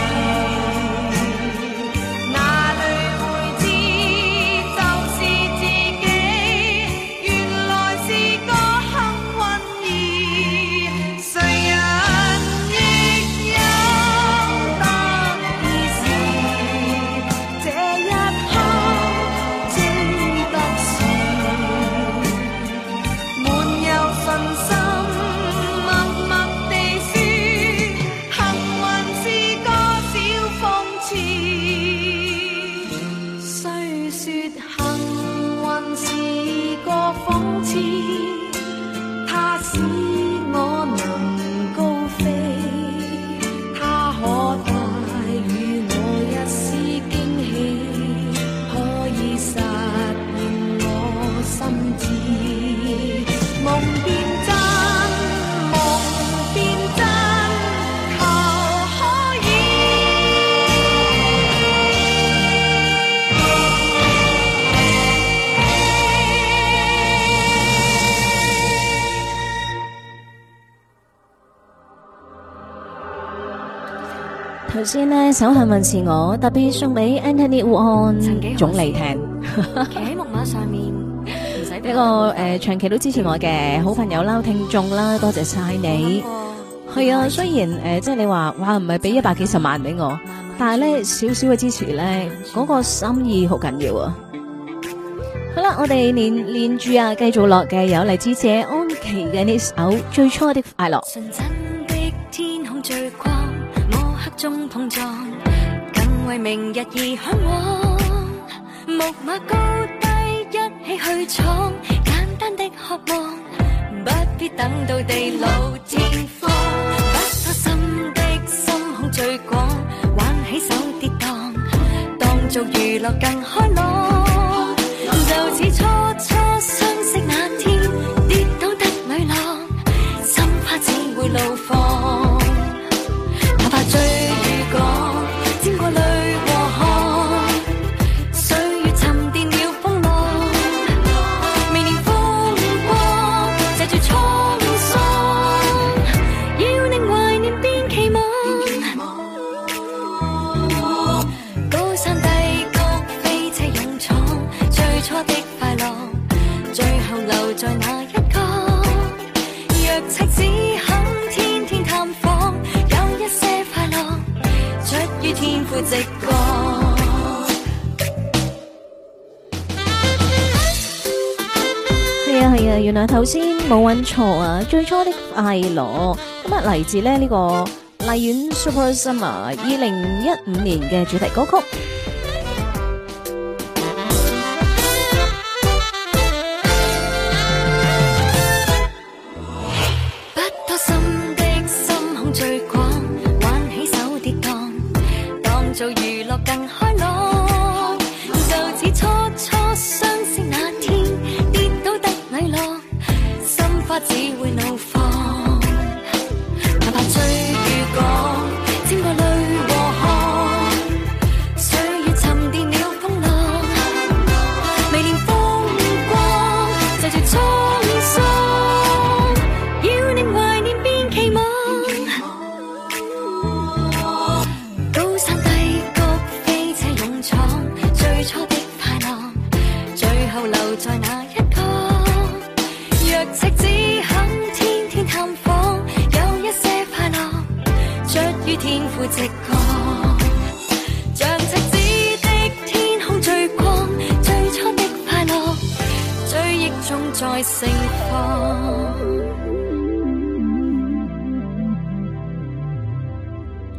哪裏會知就是自己，原來是個幸運兒。誰人亦有得意時，這一刻只得是滿有信心，默默地說，幸運是個小諷刺。雖說幸運是個諷刺，它使我能高飛，它可帶予我一絲驚喜，可以實現我心志。夢變真，夢變真，求可以。 頭先呢首幸運是我特別送俾 Anthony Wong 總理聽。 企喺木馬上面，唔使一個長期都支持我嘅好朋友啦、聽眾啦，多謝晒你。係啊，雖然即係你話哇唔係俾100幾十萬俾我，但係咧少少嘅支持咧，嗰個心意好緊要啊。好啦，我哋連住啊，繼續落嘅有嚟自謝安琪嘅呢首《最初的快樂》。 純真的天空最光，摸黑中碰撞，更為明日而向往。木馬高低一起去闖，簡單的渴望，不必等到地老天荒。不拖心的心胸最廣，玩起手跌宕，當做娛樂更開朗。就似初初相識那天，跌倒的女郎，心花只會怒放。哪怕追與趕，沾過淚和汗，歲月沉澱了風浪，未念風光，藉住滄桑，要令懷念變期望。高山低谷飛車勇闖，最初的快樂，最後留在那一角。若赤子肯天天探訪，有一些快樂出於天賦直覺。 係啊係啊，原來頭先冇揾錯啊！最初的快樂咁啊，嚟自呢個荔園 Super Summer 2015年嘅主題歌曲。 不拖心的心胸最廣，玩起手跌宕，當做娛樂更開朗。就似初初相識那天，跌倒的女郎，心花只會怒放。哪怕追與趕，沾過淚和汗，歲月沉澱了風浪，未念風光，藉住滄桑，要令懷念變期望。高山低谷飛車勇闖，最初的快樂，最後留在那一角。若赤子肯天天探訪，有一些快樂出於天賦直覺。像赤子的天空最光，最初的快樂，追憶中再盛放。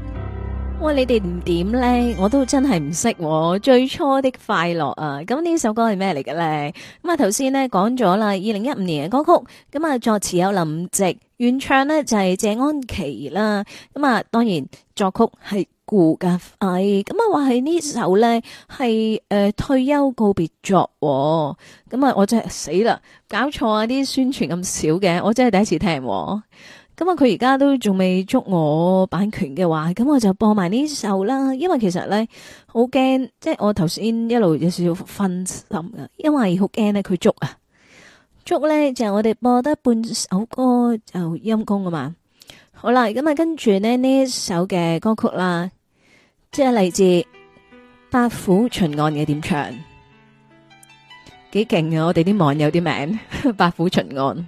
喂，你哋唔點咧？我都真係唔識喎。最初的快樂啊，咁呢首歌係咩嚟嘅咧？咁啊，頭先咧講咗啦，2015年嘅歌曲，咁啊作詞有林夕，原唱咧就係謝安琪啦。咁啊，當然作曲係顧嘉輝。咁啊，話係呢首咧係退休告別作。咁啊，我真係死啦，搞錯啊！啲宣傳咁少嘅，我真係第一次聽。咁啊，佢而家都仲未捉我版權嘅話，咁我就播埋呢首啦。因為其實咧好驚，即係我頭先一路有少少分心噶，因為好驚咧佢捉啊，捉咧就係我哋播得半首歌就陰功啊嘛。好啦，咁啊跟住呢一首嘅歌曲啦，即係嚟自八府巡案嘅點唱，幾勁啊！我哋啲網友啲名八府巡案。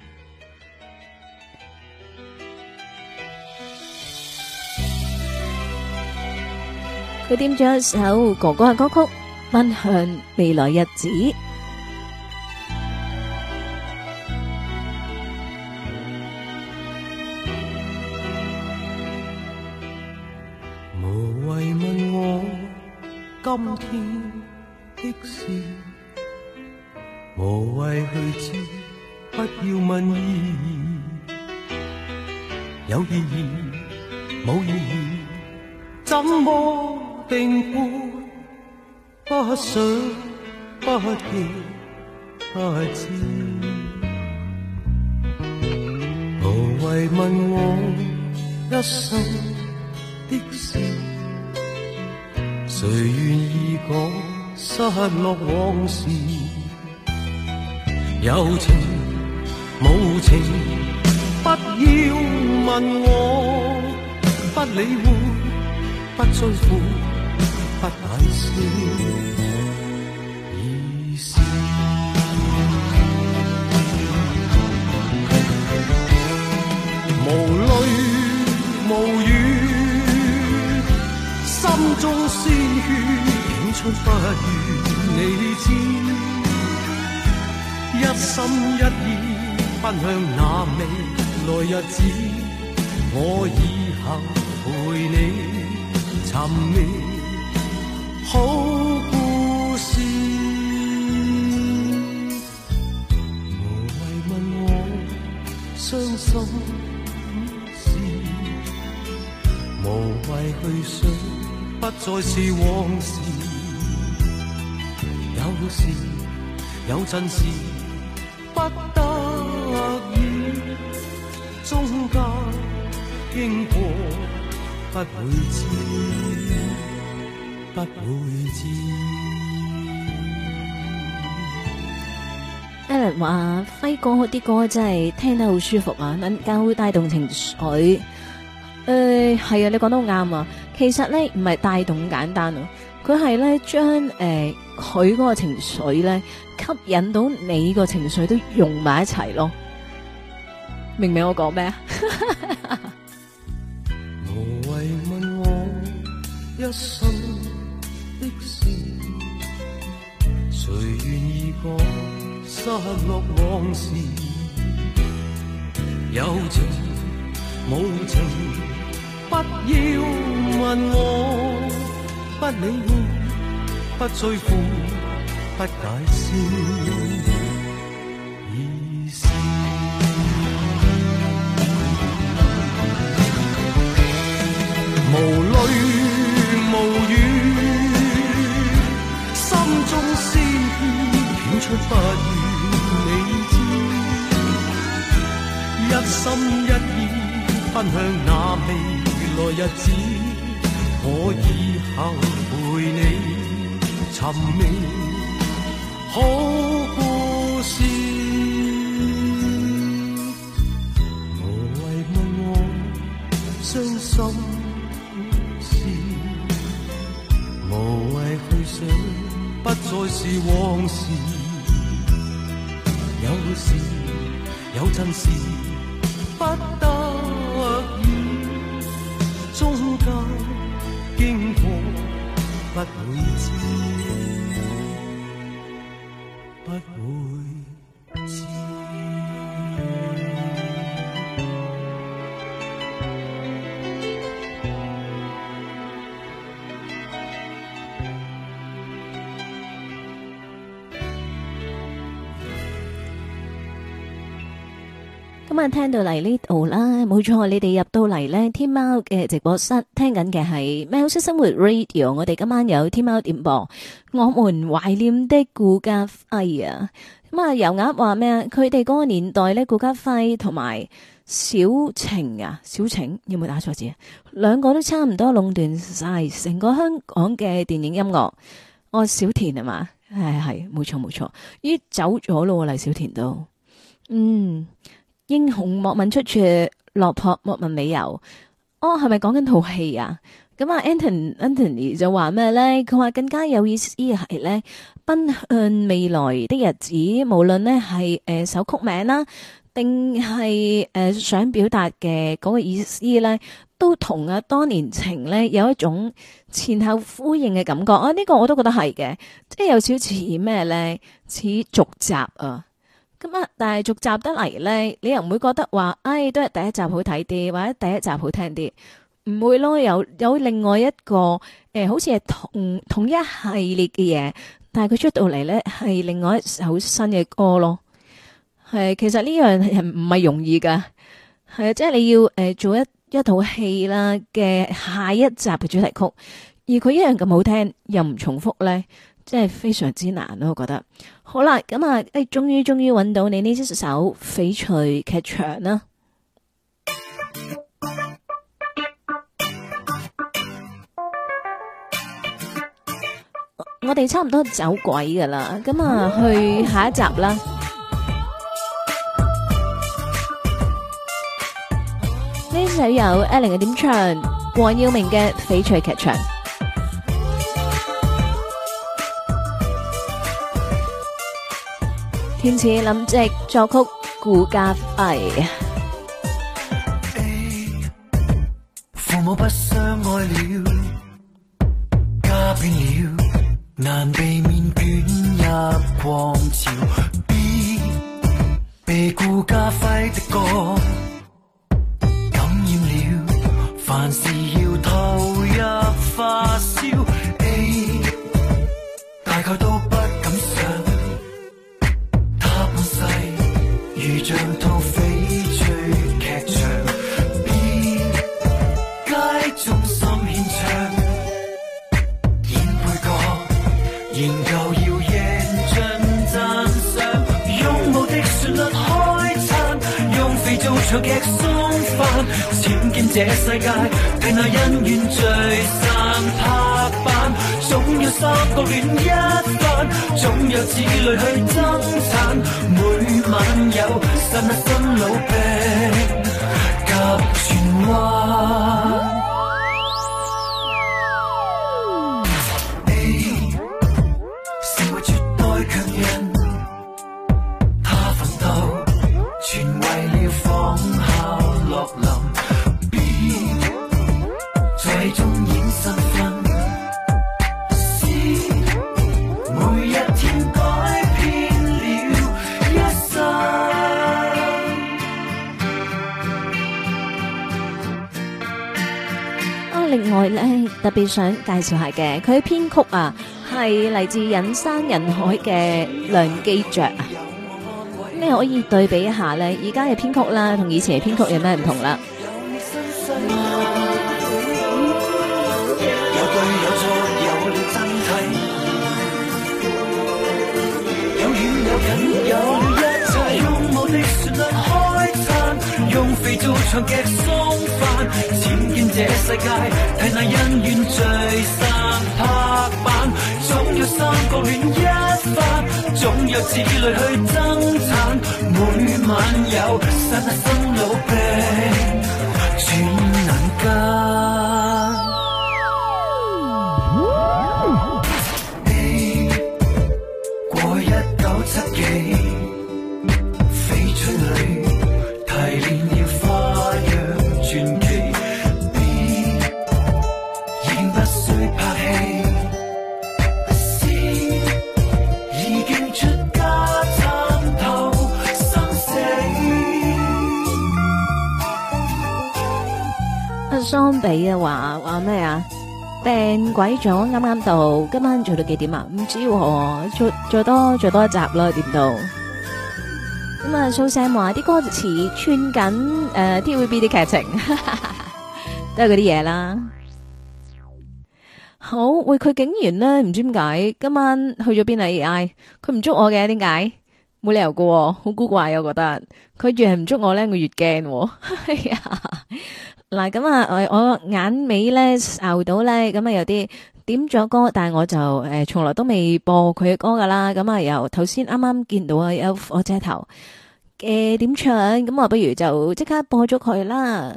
佢點咗一首哥哥嘅歌曲，奔向未來日子。 無謂問我今天的事，無謂去知，不要問意義，有意義冇意義，怎麼定判？不想不記不知，無謂問我一生的事，誰願意講失落往事？有情無情，不要問我，不理會，不追悔，不解釋，已是無淚無語，心中鮮血湧出不願你知，一心一意奔向那未來日子，我以後陪你尋覓好故事。無謂問我傷心事，無謂去想不再是往事，有時有陣時不得已，中間經過不會知，不會知。 Alan 話輝哥啲歌真係聽得好舒服啊，能夠帶動情緒。係啊，你講得好啱啊。其實咧唔係帶動咁簡單啊，佢係咧將佢嗰個情緒咧吸引到你個情緒都融埋一齊咯。明唔明我講咩啊？ 無謂問我一生的事，誰願意講失落往事？有情無情，不要問我，不理會，不追悔，不解釋，已是無淚無語，心中鮮血湧出不願你知，一心一意奔向那未來日子，我以後陪你尋覓好故事。無謂問我傷心事，無謂去想不再是往事，有時有陣時不得已，中間經過不會知，不會知。 咁啊，聽到嚟呢度啦，冇錯，你哋入到嚟呢天喵嘅直播室，聽緊嘅係喵式生活 Radio。我哋今晚有天喵點播，我們懷念的顧嘉輝啊。咁啊，油鴨話咩啊？佢哋嗰個年代呢，顧嘉輝同埋小晴啊，小晴有冇打錯字啊？兩個都差唔多壟斷晒成個香港嘅電影音樂。哦，小田係嘛？係冇錯冇錯，咦走咗咯，黎小田都英雄莫問出處，落魄莫問理由。哦，係咪講緊套戲啊？咁啊 Anthony 就話咩咧？佢話更加有意思係咧，奔向未來的日子，無論呢係首曲名啦，定係想表達嘅嗰個意思咧，都同啊多年情咧有一種前後呼應嘅感覺啊！呢個我都覺得係嘅，即係有少少似咩咧？似續集啊！咁啊，但係續集得嚟咧，你又唔會覺得話，都係第一集好睇啲，或者第一集好聽啲，唔會咯。有另外一個好似係同一系列嘅嘢，但係佢出到嚟咧係另外一首新嘅歌咯。係其實呢樣係唔係容易噶，係啊，即係你要做一套戲啦嘅下一集嘅主題曲，而佢一樣咁好聽又唔重複咧，即係非常之難咯。我覺得好啦，咁啊，終於揾到你呢首翡翠劇場啦。我哋差唔多走鬼噶啦，咁啊去下一集啦。呢首有 Ellen 嘅點唱，黃耀明嘅翡翠劇場。填詞林夕，作曲顧嘉輝。 父母不相愛了，家變了，難避免捲入狂潮。B 被顧嘉輝的歌感染了，凡事要投入發燒。A 大概都不敢想。如像套翡翠劇場 ，B 街中心獻唱，演配角，研究要贏盡讚賞，用無敵旋律開餐，用肥皂長劇送飯，僭建這世界，睇那恩怨聚散拍板，總有三角戀一番，總有子女去爭產，每晚有剎那新老病及轉彎。A 成為絕代強人，他奮鬥全為了仿效樂林。B 在中演身份。每一天改變了一生。 另外咧，特別想介紹下嘅，佢編曲啊，係嚟自人山人海嘅梁基爵啊。你可以對比一下咧，而家嘅編曲啦，同以前嘅編曲有咩唔同啦？ 有了一切，用無敵旋律開餐，用肥皂長劇送飯，僭建這世界，睇那恩怨聚散拍板，總有三角戀一番，總有子女去爭產，每晚有剎那生老病轉眼間。1970幾翡翠裏提煉了花樣傳奇 B 已經不需拍戲 C 已經出家參透生死。 阿桑比啊話咩啊？病鬼咗，啱啱到，今晚做到幾點啊？唔知喎，做多一集啦，點到？ 咁啊，蘇 Sam 話啲歌詞串緊TVB 啲劇情，都係嗰啲嘢啦。好，喂，佢竟然咧唔知點解今晚去咗邊啊 AI，佢唔捉我嘅，點解？冇理由㗎喎，好古怪啊！我覺得佢越係唔捉我咧，我越驚喎。係啊，嗱咁啊，我眼尾咧睄到咧，咁啊有啲點咗歌，但係我就從來都未播佢嘅歌噶啦。咁啊由頭先啱啱見到啊有火車頭嘅點唱，咁我不如就即刻播咗佢啦。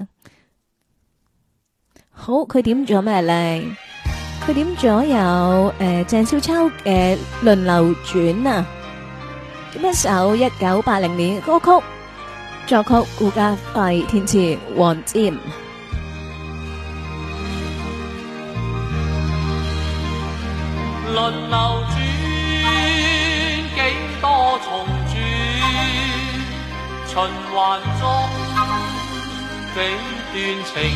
好，佢點咗咩咧？佢點咗有鄭少秋嘅輪流轉啊，一首1980年歌曲，作曲顧嘉輝，填詞黃霑。 輪流轉，幾多重轉，循環中幾段情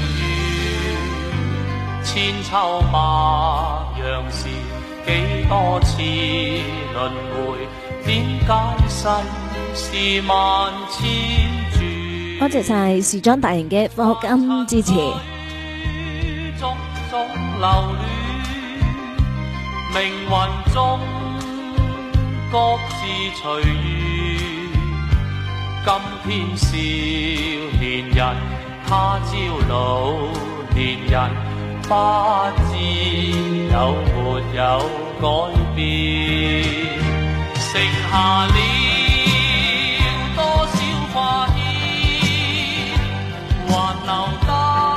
緣，千秋萬樣事，幾多次輪迴，點解世事萬千轉？ 多謝晒時裝大型嘅課金支持。 種種流亂，命運中各自隨緣。今天少年人，他朝老年人，不知有沒有改變。剩下了多少花煙，還留得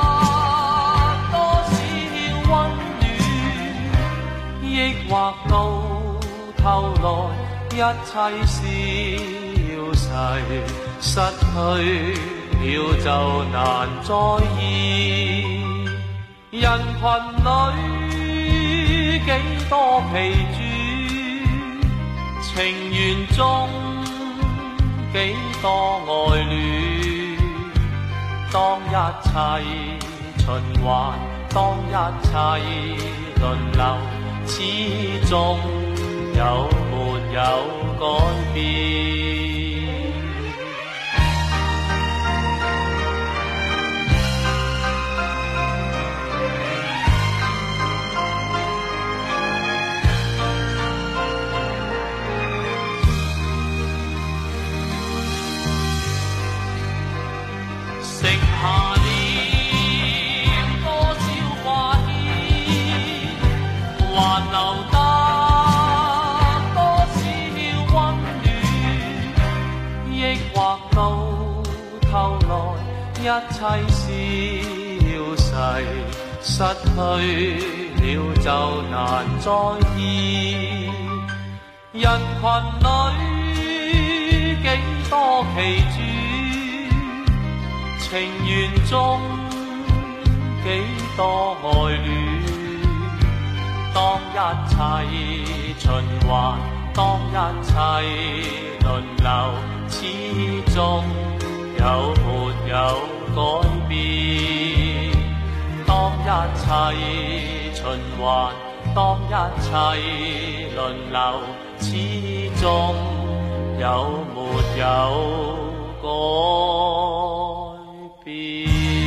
多少溫暖，抑或到頭來一切消逝，失去了就難再現。人群裏幾多疲倦，情緣中幾多愛戀。當一切循環，當一切輪流，始終有沒有改變？剩下了多少花煙，還留得多少溫暖，抑或到頭來一切消逝，失去了就難再現。人群裏幾多奇蹟，情緣中幾多愛戀。當一切循環，當一切輪流，始終有沒有改變？當一切循環，當一切輪流，始終有沒有改變？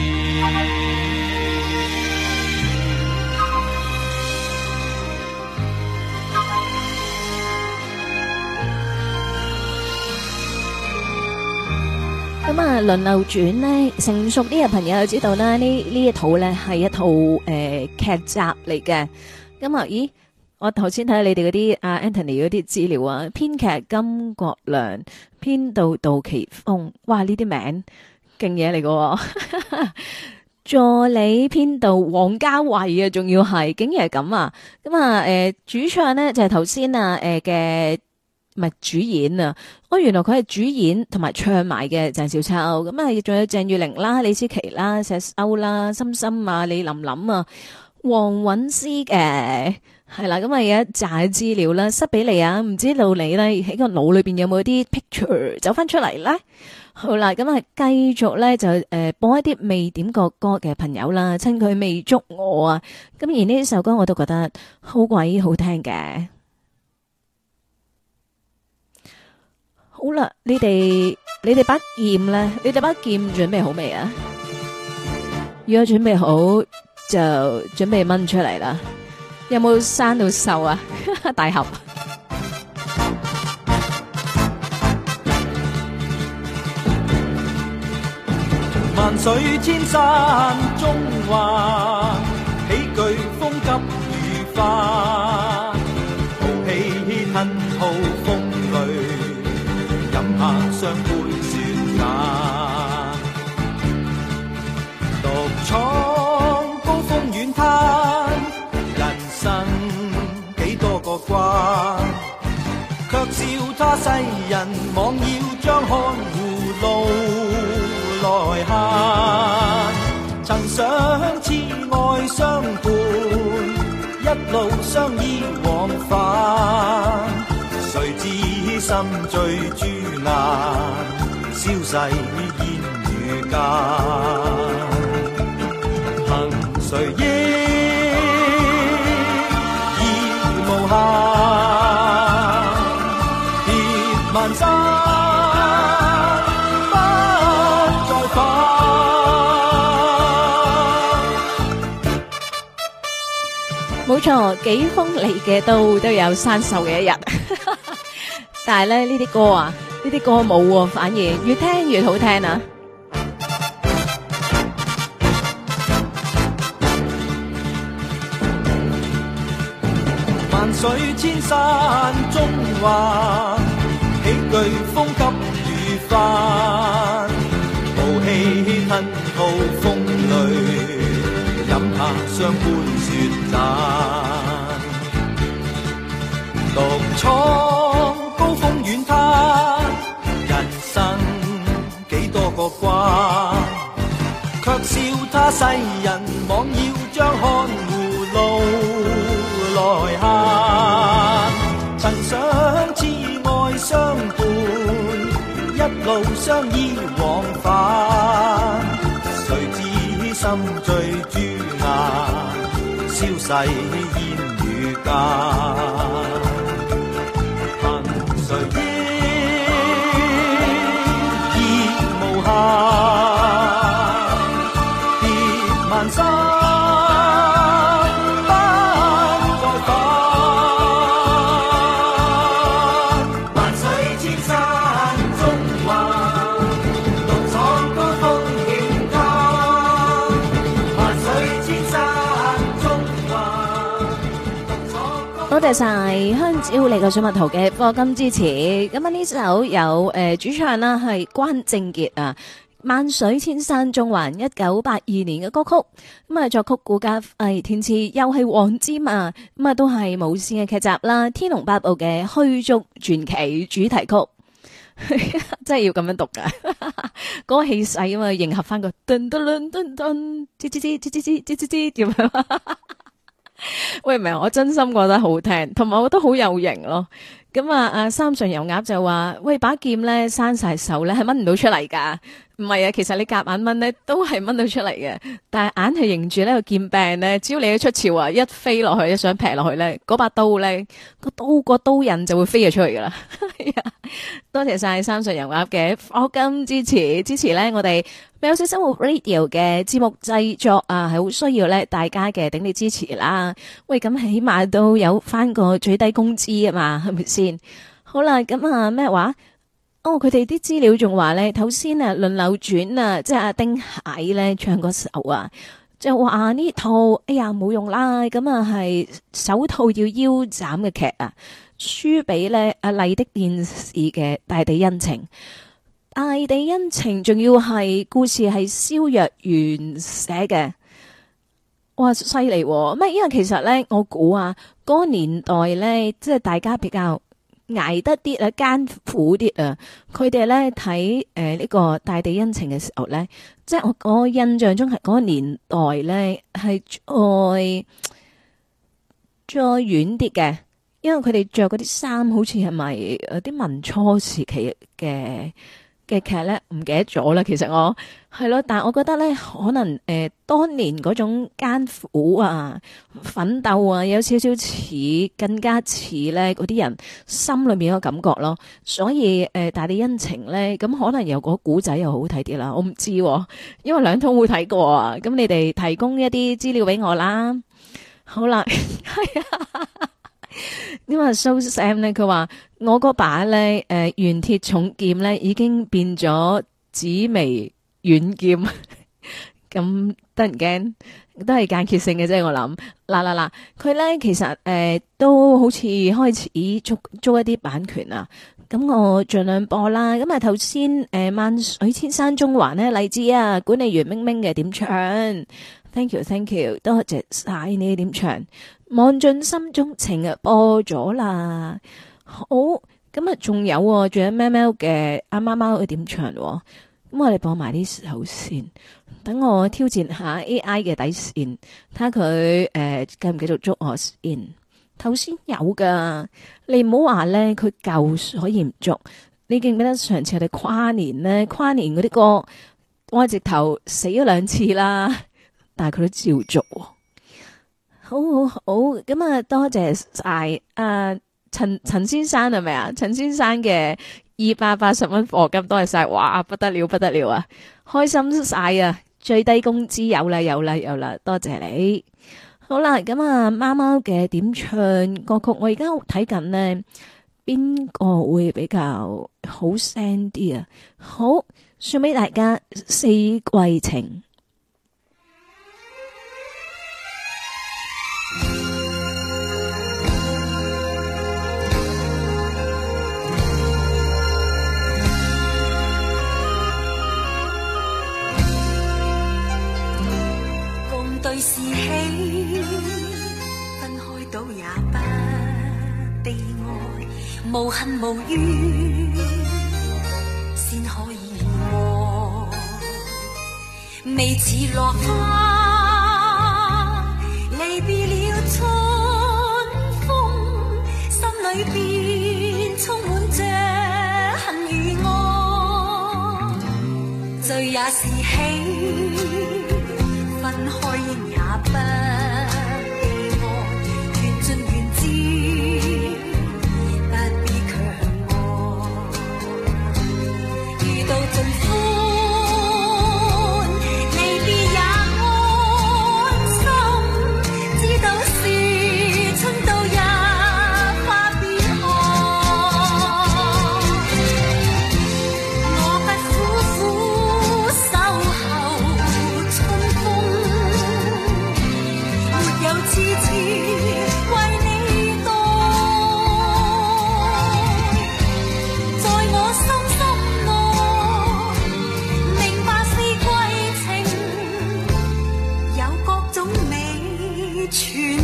咁啊，輪流轉呢，成熟啲嘅朋友就知道啦，呢一套呢係一套劇集嚟嘅。咁啊，咦，我頭先睇下你哋嗰啲阿 Anthony 嗰啲資料啊，編劇金國良，編導杜琪峰，哇，呢啲名勁嘢嚟㗎。助理編導王家衛啊，仲要係，竟然係咁啊！咁啊，主唱呢就係頭先啊，嘅。唔係主演啊！原來佢係主演同埋唱埋嘅鄭少秋，咁啊，仲有鄭裕玲啦、李思琪啦、石歐啦、心心啊、李琳琳啊、黃韻詩嘅係啦，咁啊有一紮資料啦，塞俾你啊！唔知道你咧喺個腦裏邊有冇啲 picture 走翻出嚟咧？好啦，咁啊繼續咧就播一啲未點過歌嘅朋友啦，趁佢未捉我啊！咁而呢首歌我都覺得好鬼好聽嘅。好啦，你哋把劍咧，你哋把劍準備好未啊？如果準備好，就準備掹出嚟啦。有冇生到銹啊？大俠。 萬水千山中華，喜劇風急如花，豪氣吞吐風雷，飲下雙杯雪雅，獨闖高峰遠灘，人生幾多個關，卻笑他世人妄要將看護路來行，曾想痴愛相伴，一路相依往返，誰知心醉朱顏，消逝煙雨間，憑誰憶已無限，別萬山冇錯，幾鋒利嘅刀都有生鏽嘅一日。但係咧呢啲歌啊，呢啲歌冇喎，反而越聽越好聽啊！ 萬水千山中華，喜劇風急雨翻，豪氣吞吐風雷。飲下雙杯雪盞，獨闖高峰遠灘，人生幾多個關，卻笑他世人妄要將看護路來行，曾想痴愛相伴，一路相依往返，誰知心醉朱顏，消逝煙雨間，憑誰憶已無限，別萬山多謝晒香蕉你個水蜜桃嘅課金支持。咁啊呢首有主唱啦係關正傑啊，萬水千山縱橫1982年嘅歌曲。咁啊作曲顧嘉輝，填詞又係黃霑啊。咁啊都係無綫嘅劇集啦，《天龍八部》嘅虛竹傳奇主題曲。真係要咁樣讀噶，嗰個氣勢啊嘛，迎合翻個噔噔噔噔噔，吱吱吱吱吱吱吱吱咁樣。喂，唔係，我真心覺得好聽，同埋我覺得好有型咯。咁啊，三上油鴨就話：喂，把劍咧生晒手咧，係掹唔到出嚟噶。唔係啊，其實你夾硬掹咧都係掹到出嚟嘅，但係硬係認住呢個劍柄咧，只要你一出鞘啊，一飛落去，一想劈落去咧，嗰把刀咧個刀刃就會飛咗出去噶啦。多謝晒三上油鴨嘅課金支持咧，我哋喵式生活 Radio 嘅節目製作啊，係好需要咧大家嘅鼎力支持啦。喂，咁起碼都有翻個最低工資啊嘛，係咪先？好啦，咁啊咩話？哦，佢哋啲資料仲話咧，頭先啊輪流轉啊，即係阿丁蟹咧唱嗰首啊，就話呢套哎呀冇用啦，咁啊係首套要腰斬嘅劇啊，輸俾咧阿麗的電視嘅大地恩情。大地恩情仲要係故事係蕭若元寫嘅，哇犀利咩？因為其實咧，我估啊，嗰個年代咧，即係大家比較捱得啲啊，艱苦啲啊。佢哋咧睇呢個大地恩情嘅時候咧，即係我印象中係嗰個年代咧係再遠啲嘅，因為佢哋着嗰啲衫好似係咪啲民初時期嘅嘅劇咧，唔記得咗啦。其實我係咯，但係我覺得咧，可能當年嗰種艱苦啊、奮鬥啊，有少少似，更加似咧嗰啲人心裏面嘅感覺咯。所以大地恩情咧，咁可能有個古仔又好睇啲啦。我唔知喎，因為兩套會睇過啊。咁你哋提供一啲資料俾我啦。好啦，係啊。因為 So Sam 咧，佢話我嗰把咧原鐵重劍咧已經變咗紫微軟劍，咁得人驚，都係間歇性嘅啫。我諗嗱，佢咧其實都好似開始租一啲版權啊。咁我盡量播啦。咁啊頭先萬水千山中環呢，荔枝啊，管理員明明嘅點唱 ，thank you， 多謝晒你點唱。望盡心中情啊，播咗啦。好，咁啊，仲有喵喵嘅阿貓貓嘅點唱。咁我哋播埋呢首先，等我挑戰下 AI 嘅底線，睇下佢繼唔繼續捉我先。頭先有噶，你唔好話咧，佢舊所以唔捉。你記唔記得上次我哋跨年咧，跨年嗰啲歌，我直頭死咗2次啦，但係佢都照捉。好，咁啊，多謝晒陳先生係咪啊？陳先生嘅280蚊課金，多謝晒，哇，不得了啊，開心晒啊！最低工資有啦，多謝你。好啦，咁啊，貓貓嘅點唱歌曲，我而家睇緊呢，邊個會比較好聲啲啊？好，送俾大家四季情。 對是喜，分開到也不悲哀，無恨無怨，先可以愛。未似落花，離別了春風，心裏邊充滿着恨與愛。醉也是喜，分開應也不悲哀，緣盡緣至，不必強愛。遇到盡歡，離別也安心，知道是春到日花變開。我不苦苦守候春風，沒有痴痴為你待，在我心內明白四季情，有各種美存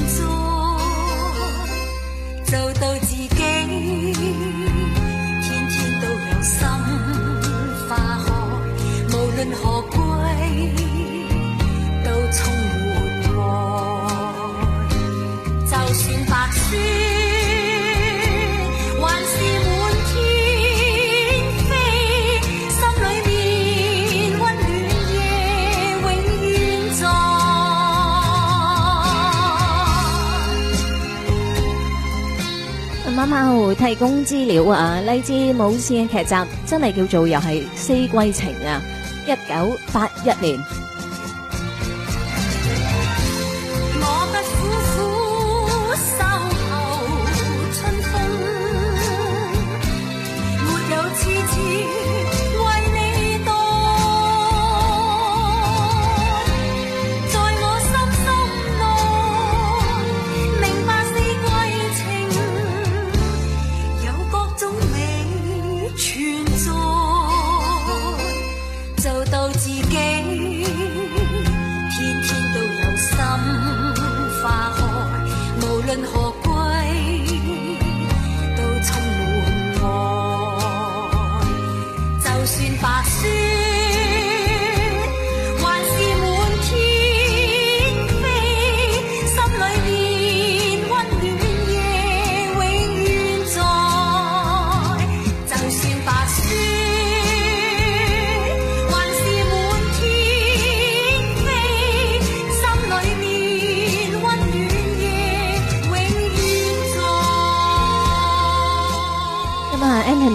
在，做到自己天天都有心花開，無論何歸都充滿愛。就算白雪還是滿天飛，心裏面溫暖夜永遠在。 貓貓提供資料啊，荔枝冇線嘅劇集真係叫做又係四季情啊，1981年。 我不苦苦守候春風，沒有痴痴為你待，在我心內明白四季情，有各種美存在，做到自己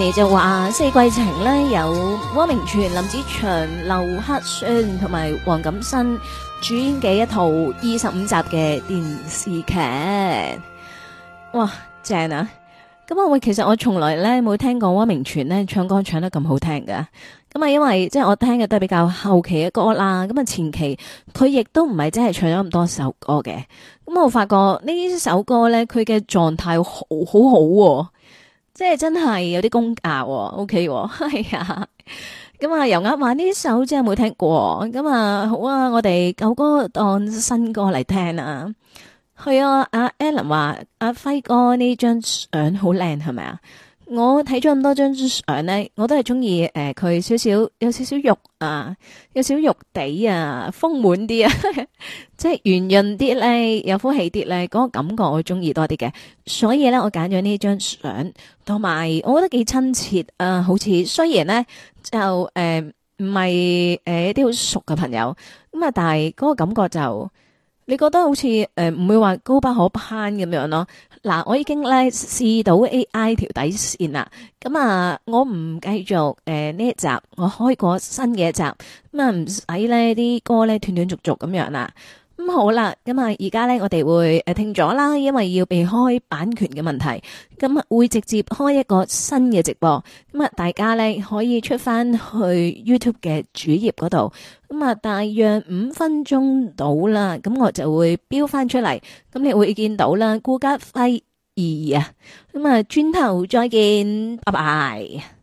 Amy 就話四季情咧有汪明荃、林子祥、劉克宣同埋黃錦燊主演嘅一套25集嘅電視劇，哇正啊！咁啊，其實我從來咧冇聽過汪明荃咧唱歌唱得咁好聽㗎。咁啊，因為即係我聽嘅都係比較後期嘅歌啦。咁啊，前期佢亦都唔係真係唱咗咁多首歌嘅。咁我發覺呢首歌咧，佢嘅狀態好好，即係真係有啲功架，OK，係啊。咁啊，油鴨話呢首真係冇聽過。咁啊，好啊，我哋舊歌當新歌嚟聽啊。係啊，阿 Alan 話阿輝哥呢張相好靚，係咪啊？我睇咗咁多張相咧，我都係中意佢有少少肉啊，有少少肉地啊，豐滿啲啊，即係圓潤啲咧，有福氣啲咧，嗰個感覺我中意多啲嘅。所以咧，我揀咗呢張相，同埋我覺得幾親切啊，好似雖然咧就唔係一啲好熟嘅朋友咁啊，但係嗰個感覺就。你覺得好似唔會話高不可攀咁樣咯？嗱，我已經咧試到 AI 條底線啦。咁啊，我唔繼續呢一集，我開過新嘅一集，咁啊唔使咧啲歌咧斷斷續續咁樣啦。咁好啦，咁啊而家咧我哋會停咗啦，因為要避開版權嘅問題，咁啊會直接開一個新嘅直播，咁啊大家咧可以出翻去 YouTube 嘅主頁嗰度，咁啊大約5分鐘到啦，咁我就會標翻出嚟，咁你會見到啦，顧嘉輝2啊，咁啊轉頭再見，拜拜。